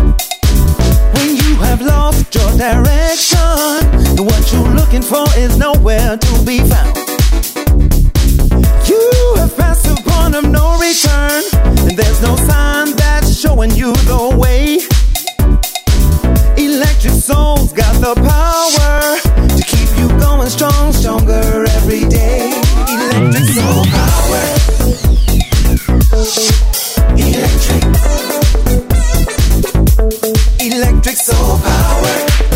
direction. What you're looking for is no nowhere to be found. You have passed the point of no return, and there's no sign that's showing you the way. Electric soul's got the power to keep you going strong, stronger every day. Electric soul power. Electric. Electric soul power.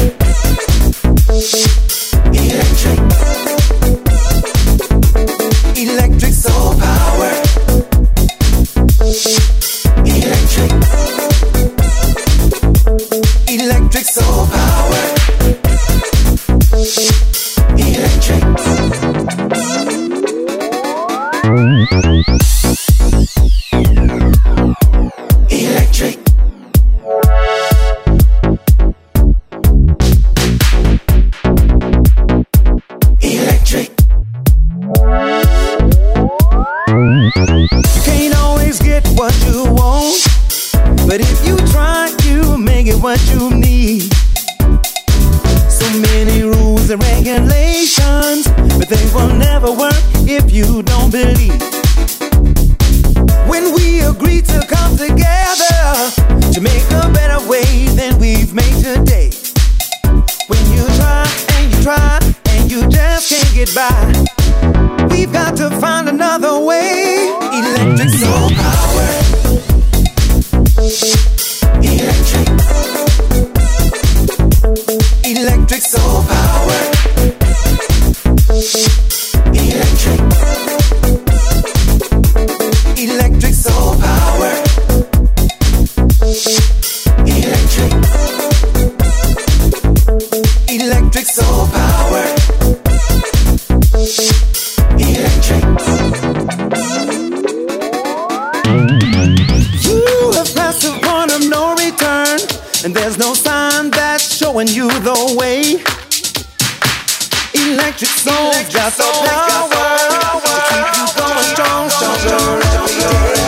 Electric. Electric soul power. Electric. Electric soul power. Electric. Electric. Electric. You can't always get what you want, but if you try, you make it what you need. So many rules and regulations, but they will never work if you don't believe. When we agree to come together to make a better way than we've made today. When you try and you try and you just can't get by, we've got to find another way. Electric soul power. Electric. Electric soul power. Electric. Electric soul power. Electric. Electric soul power. Electric. You have passed the point of no return, and there's no sign that's showing you the way. Electric soul's got the power to keep you going strong, stronger every day.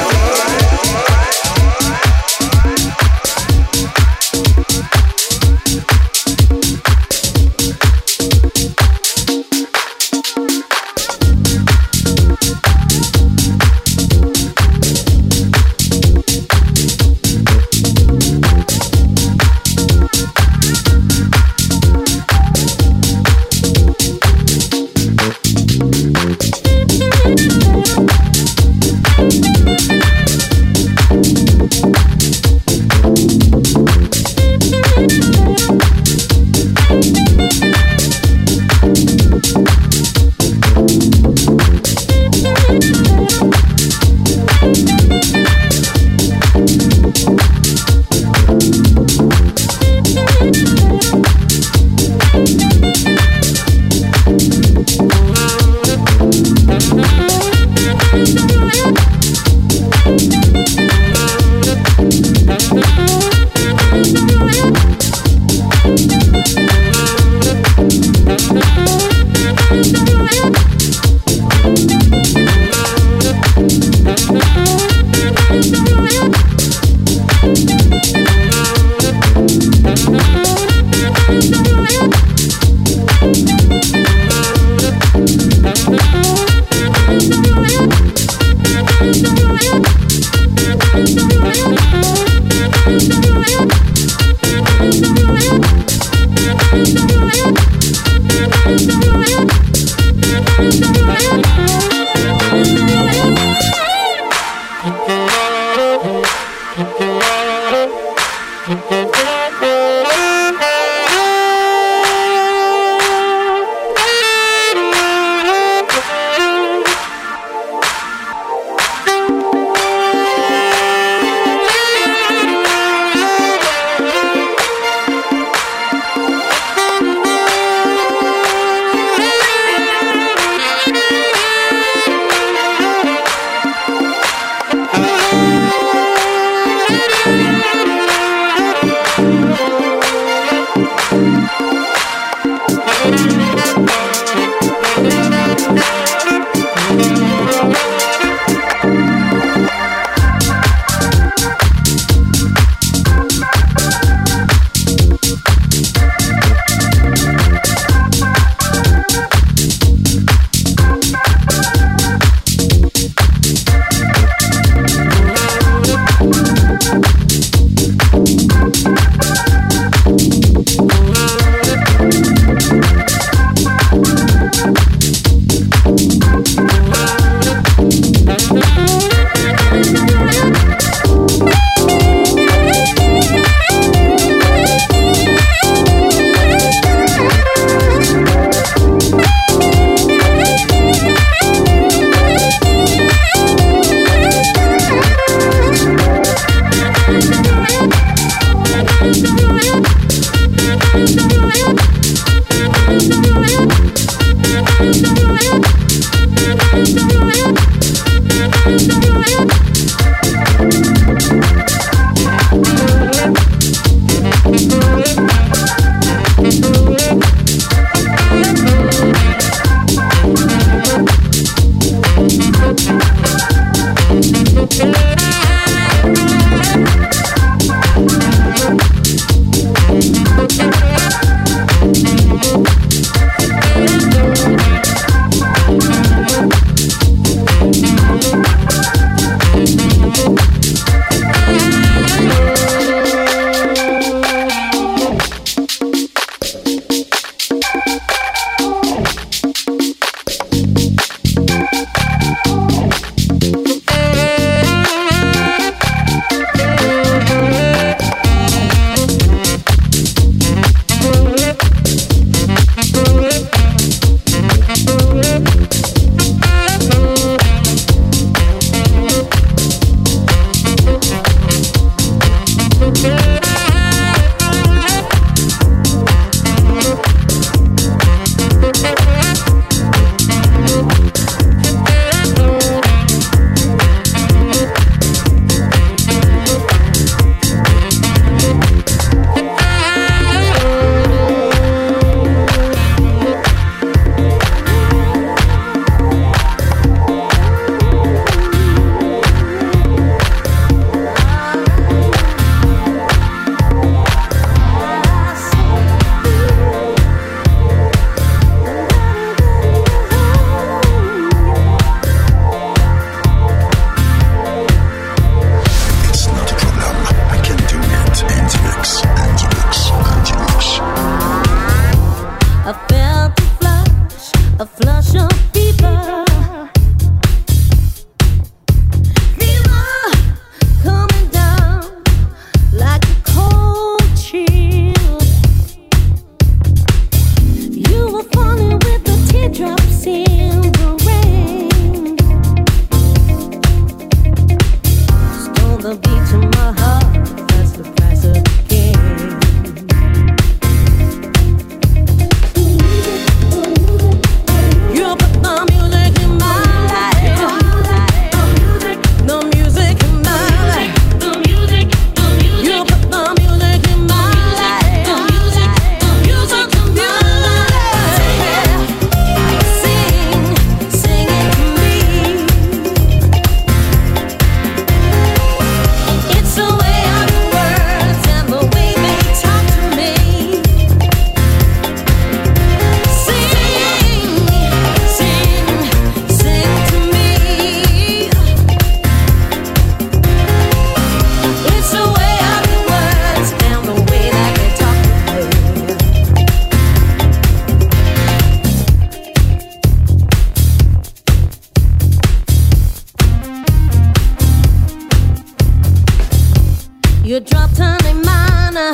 You dropped honey minor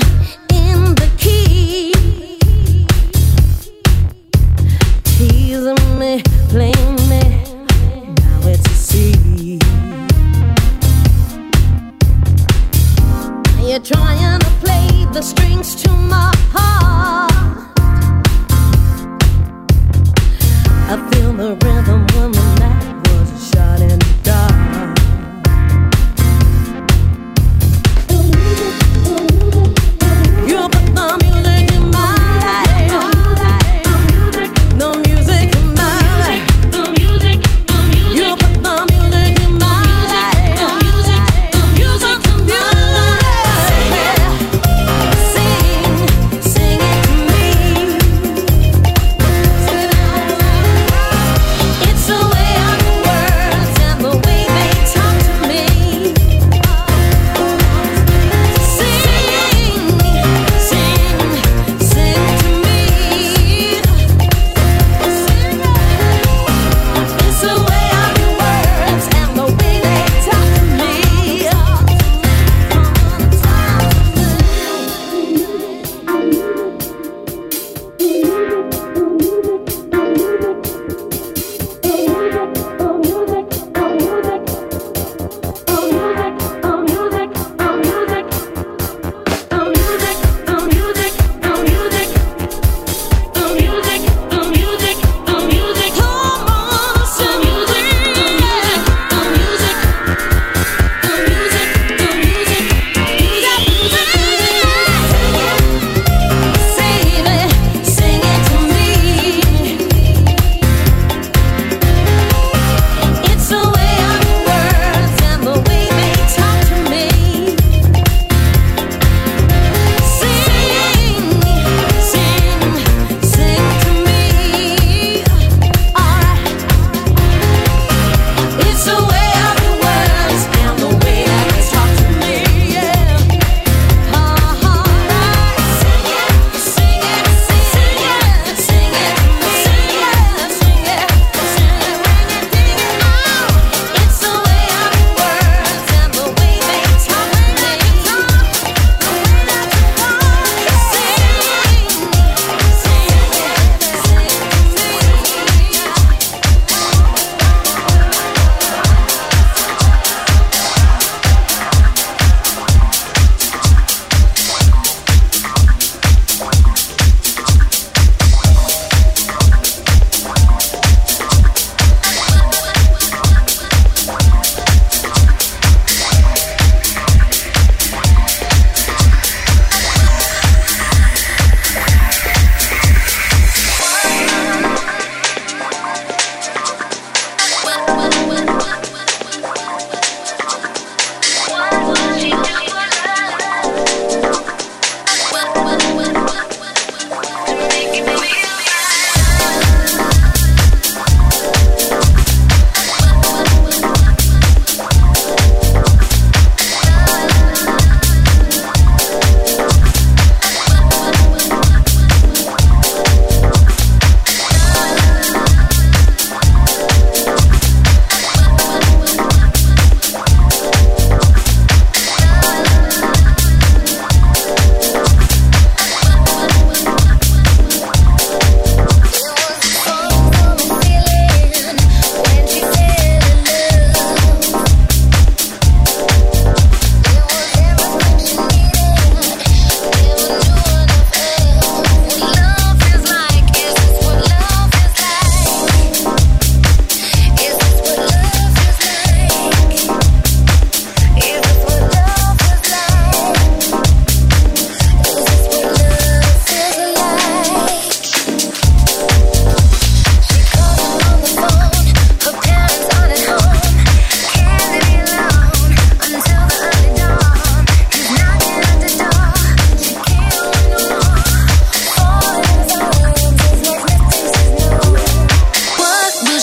in the key, teasing me, playing me, now it's a C. You're trying to play the strings to my heart. I feel the rhythm when the night was a shot in the dark. You put the music in my life. The music in my life. The music, the music. You put the music in my life. The music, the music in my life. Sing, sing it to me. It's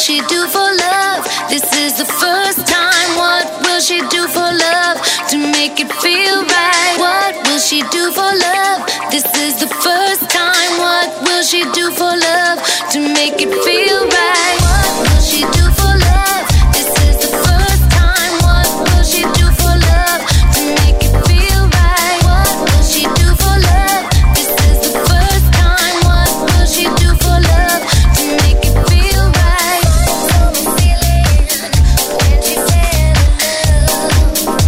she do for love? This is the first time. What will she do for love to make it feel right? What will she do for love? This is the first time. What will she do for love to make it feel right? What will she do for love? This is the first time. What will she do for love to make it feel right? What will she do for love? This is the first time. What will she do for love to make it feel right? When she fell in love,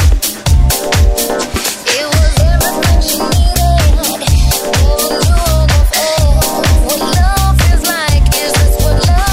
it was everything she needed. Never knew enough of what love feels like. Is this what love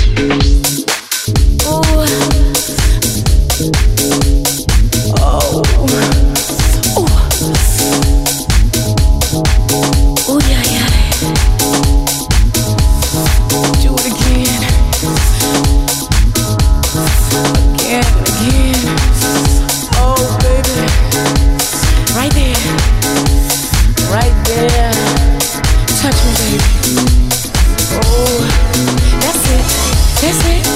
That's it.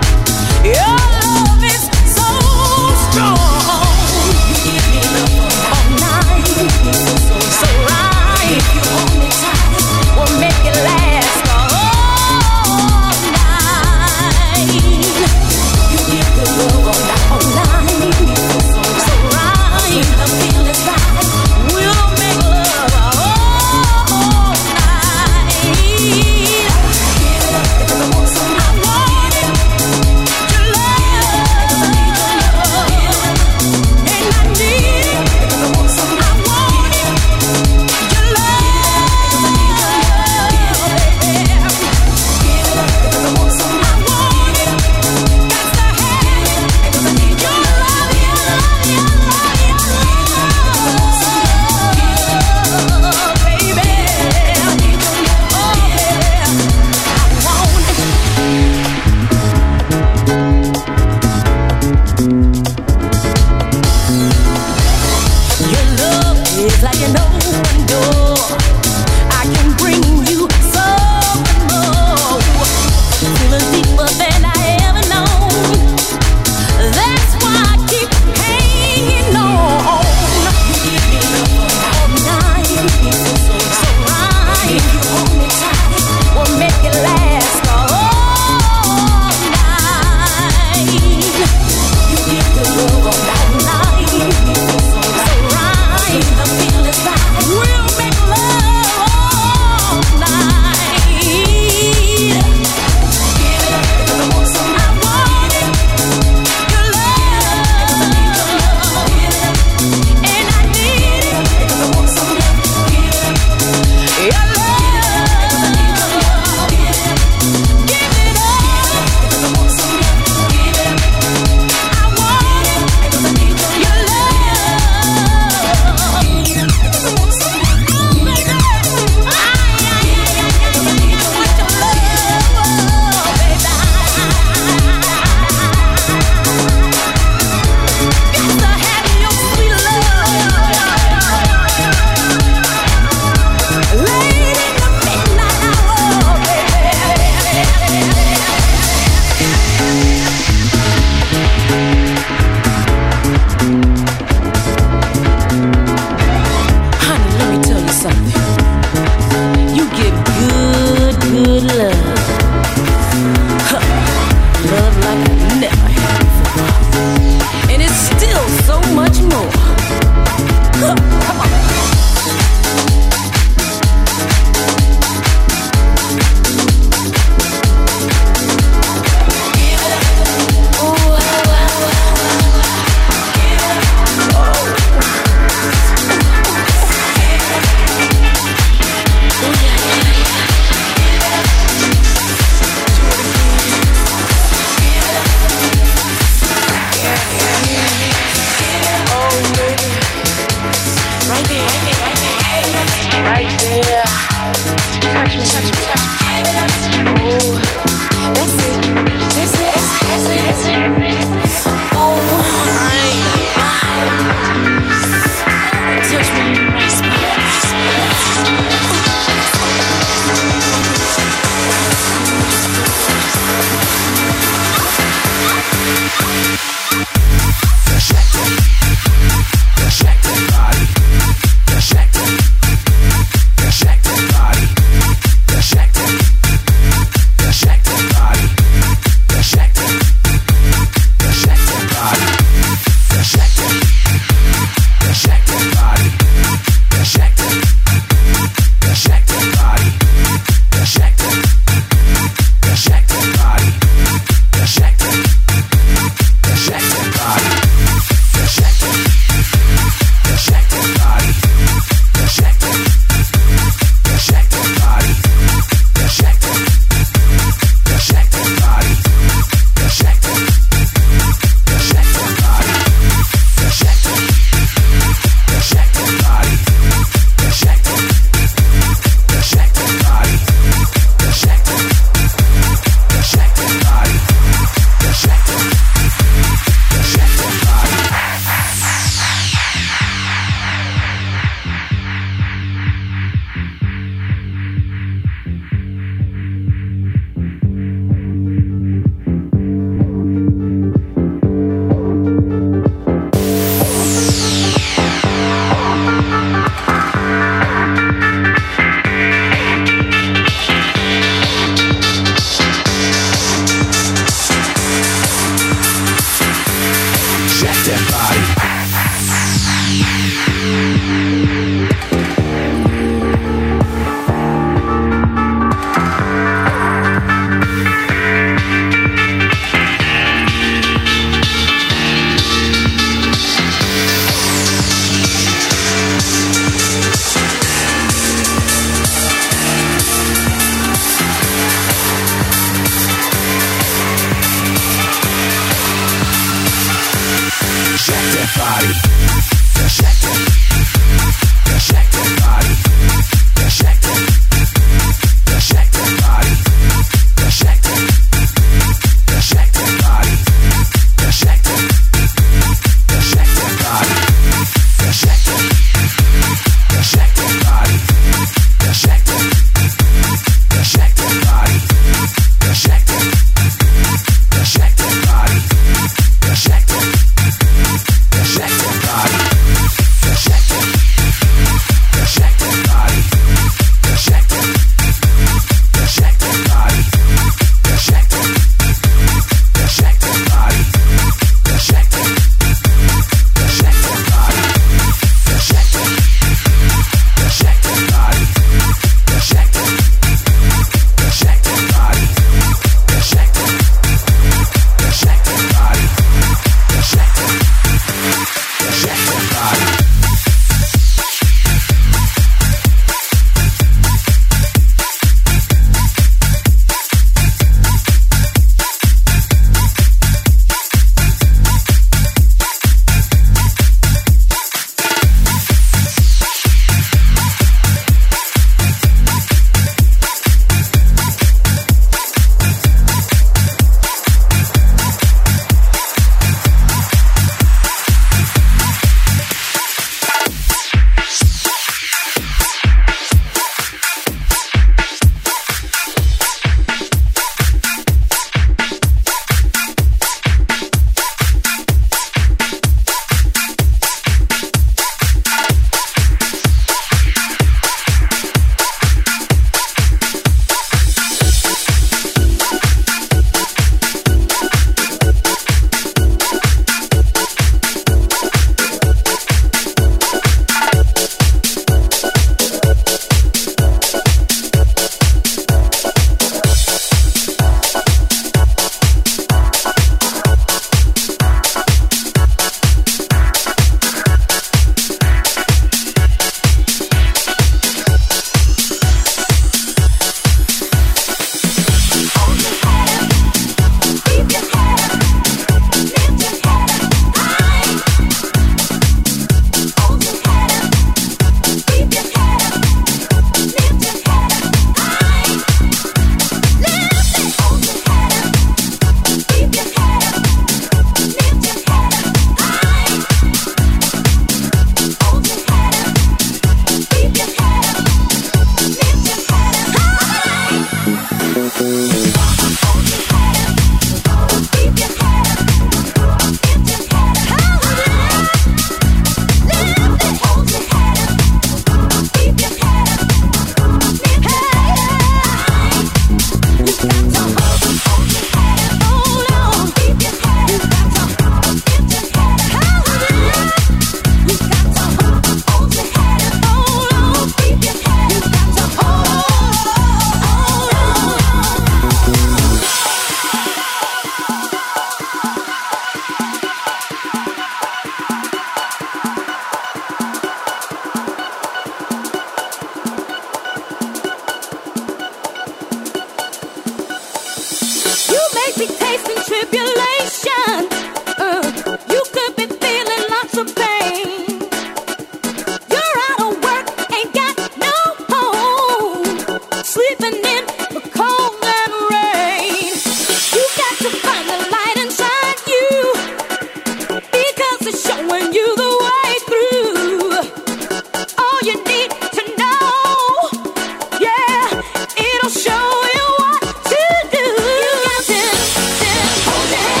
Show you what to do. You got to, to hold your hand.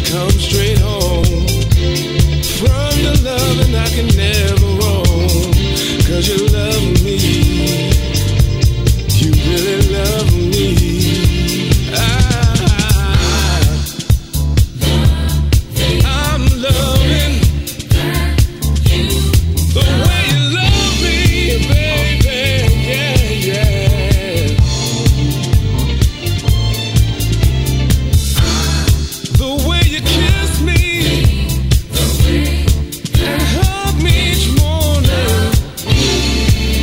come straight home from the loving I can never roam. Cause you love me, you really love me. I, I'm loving the way you love me, baby, yeah, yeah. The way you kiss me and hug me each morning.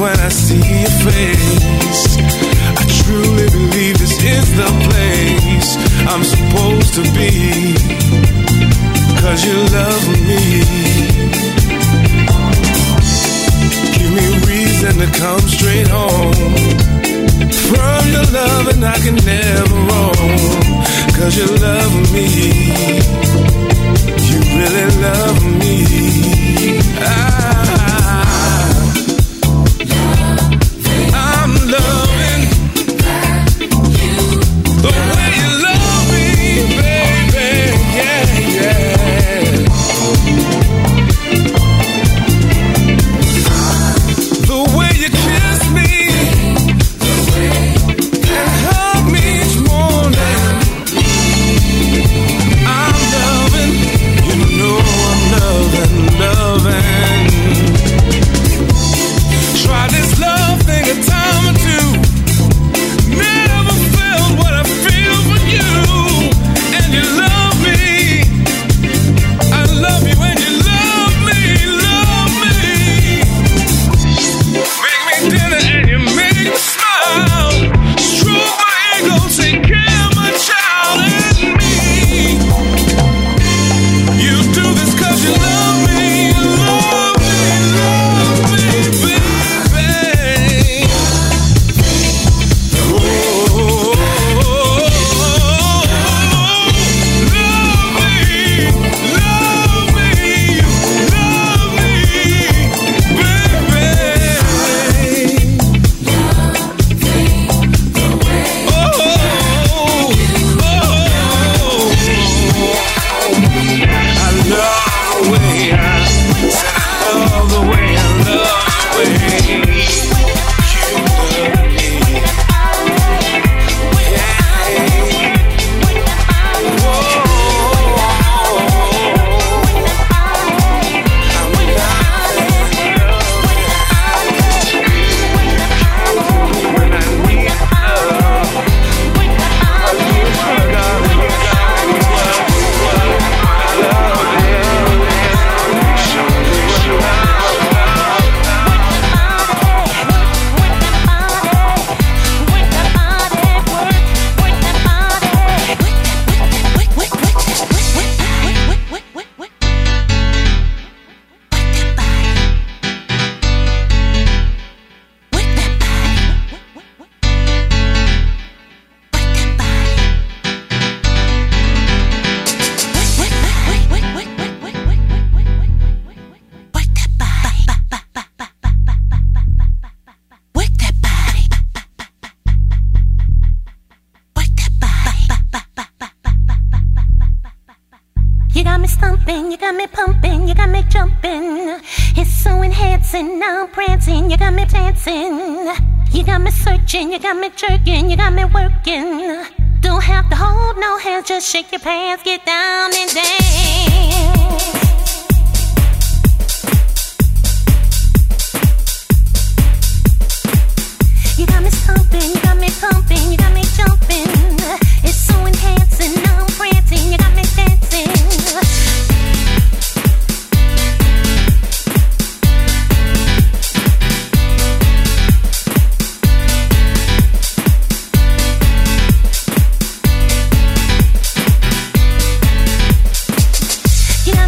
when I see your face. I truly believe this is the place I'm supposed to be, 'cause you love me. Give me a reason to come straight home from your love, and I can never roam, 'cause you love me. You really love me. I, I'm loving you, the way you love me, baby. Yeah, yeah. The way you kiss me, the way and hug me each morning. I'm loving, you know I'm loving, loving. Try this love thing a time or two. Never felt what I feel for you. And you love me. I love you and you love me, love me. Make me dinner and you make me smile. Stroke my ego, take care of my child and me. You do this 'cause you love me, love me, love me, baby. Oh, love me, love me, love me, baby. Oh, oh, I love the way I said I love the way I love the way you love me. You got me stumping, you got me pumping, you got me jumping. It's so enhancing, now I'm prancing, you got me dancing. You got me searching, you got me jerking, you got me working. Don't have to hold no hands, just shake your pants, get down and dance. You got me stumping, you got me pumping, you got me jumping. It's so enhancing, now I'm prancing, you got me dancing. You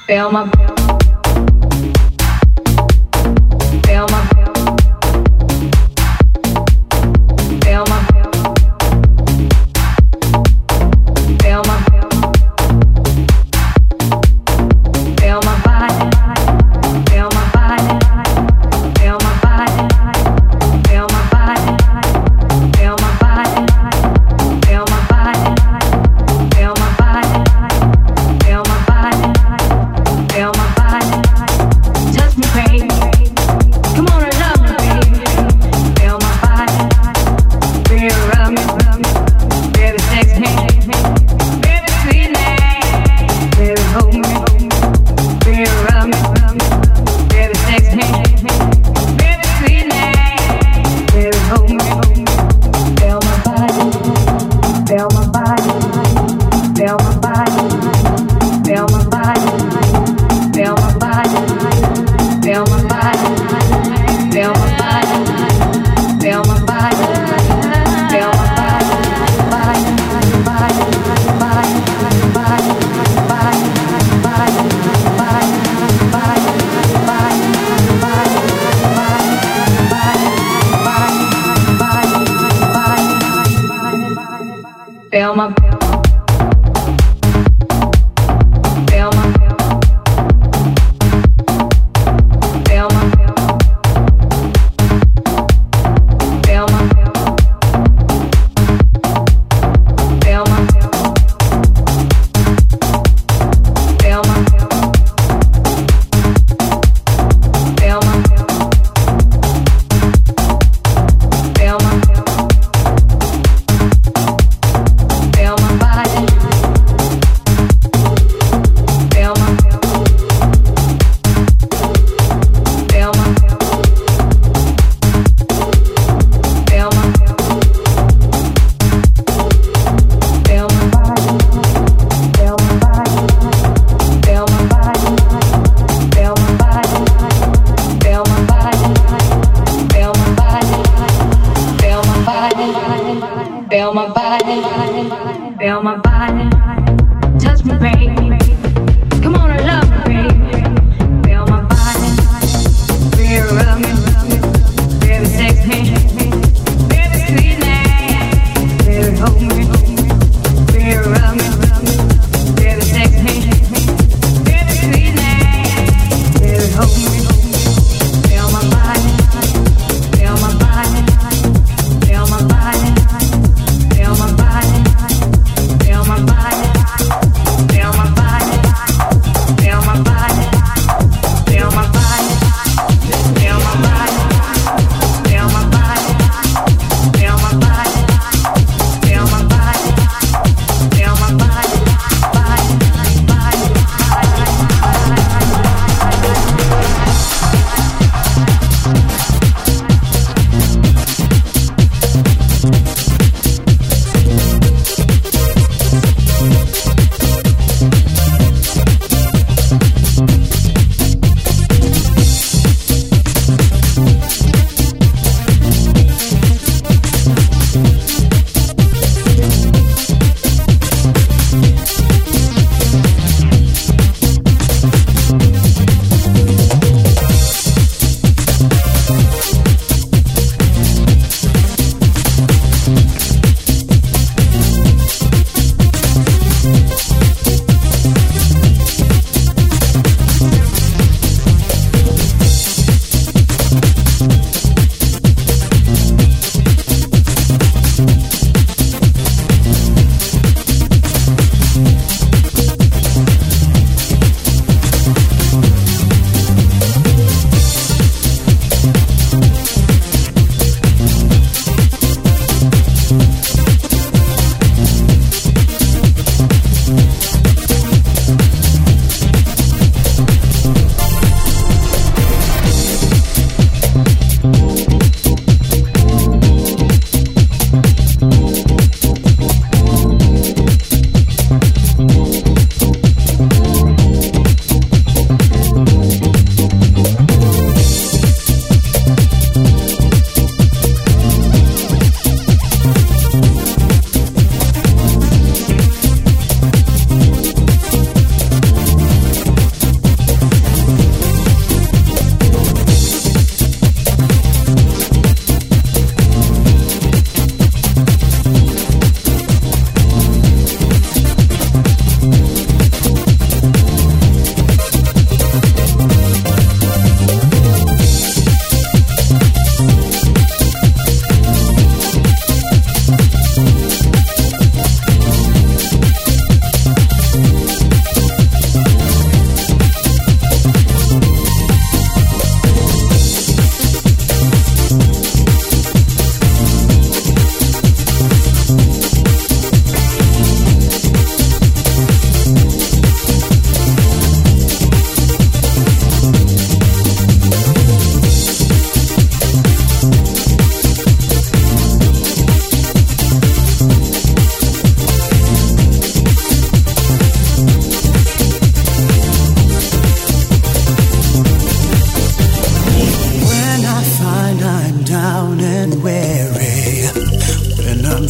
Bye. Feel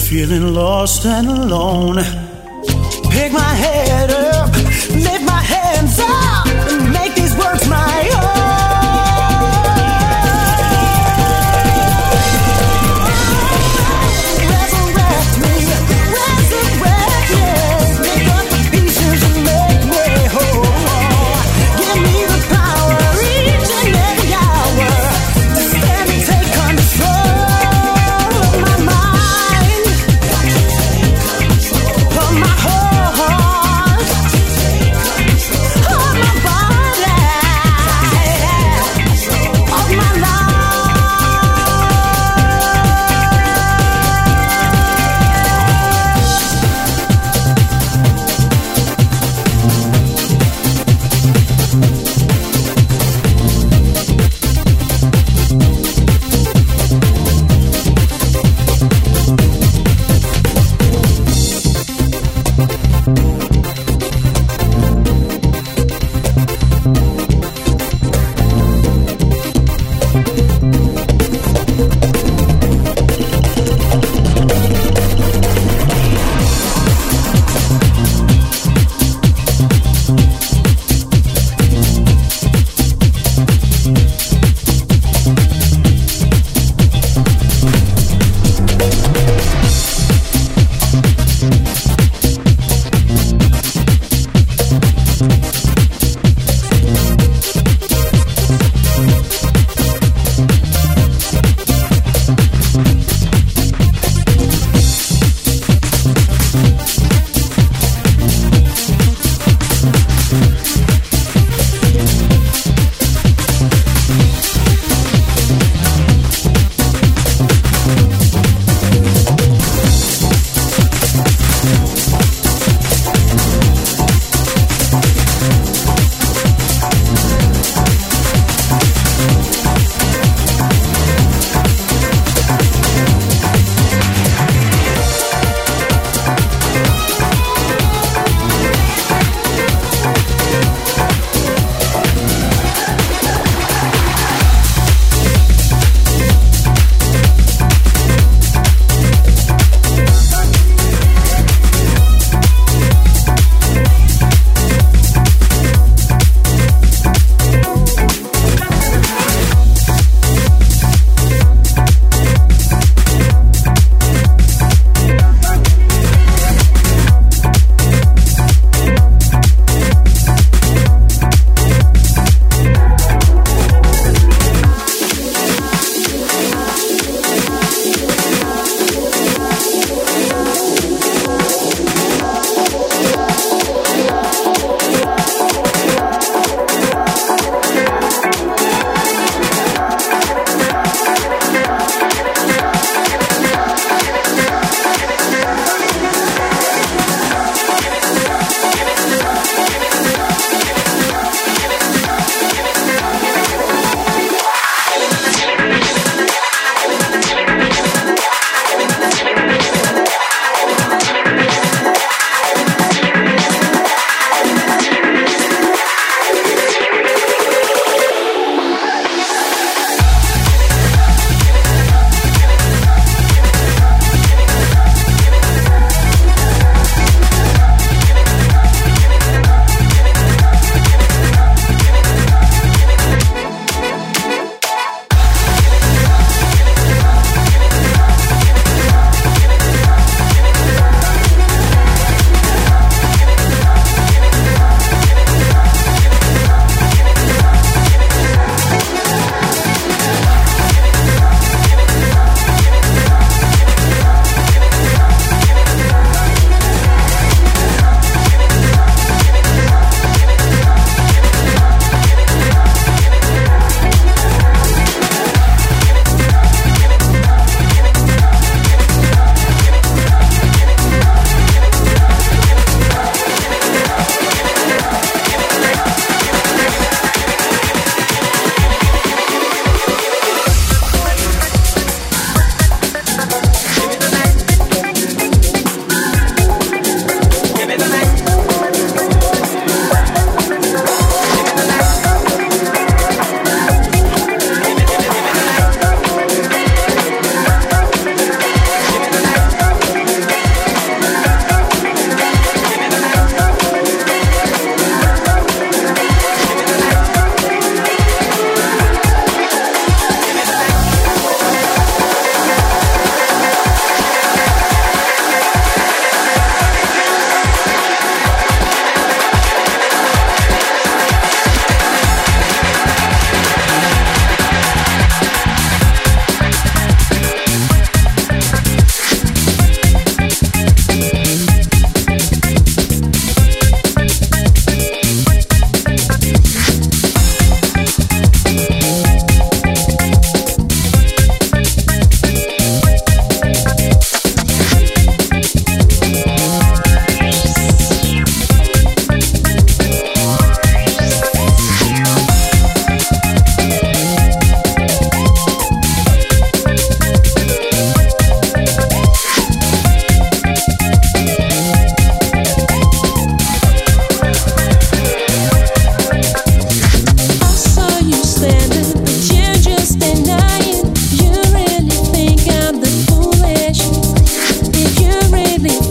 feeling lost and alone. Pick my head up, lift my hands up, and make these words my own. Resurrect me, resurrect me, pick up the pieces and make me whole. Give me the power each and every hour to stand and take control of my mind, of my heart, of my body.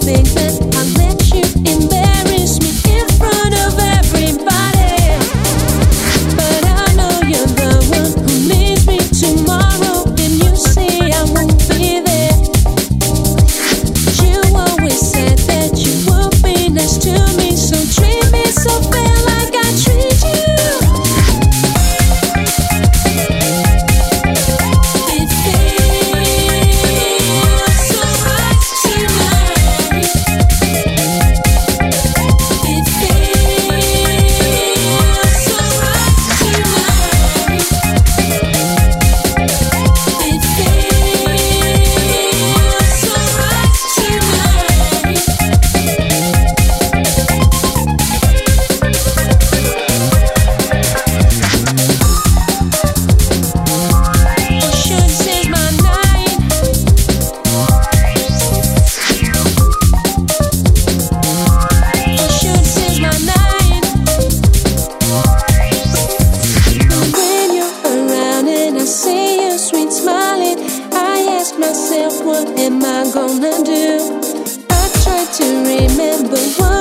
myself, what am I gonna do? I try to remember what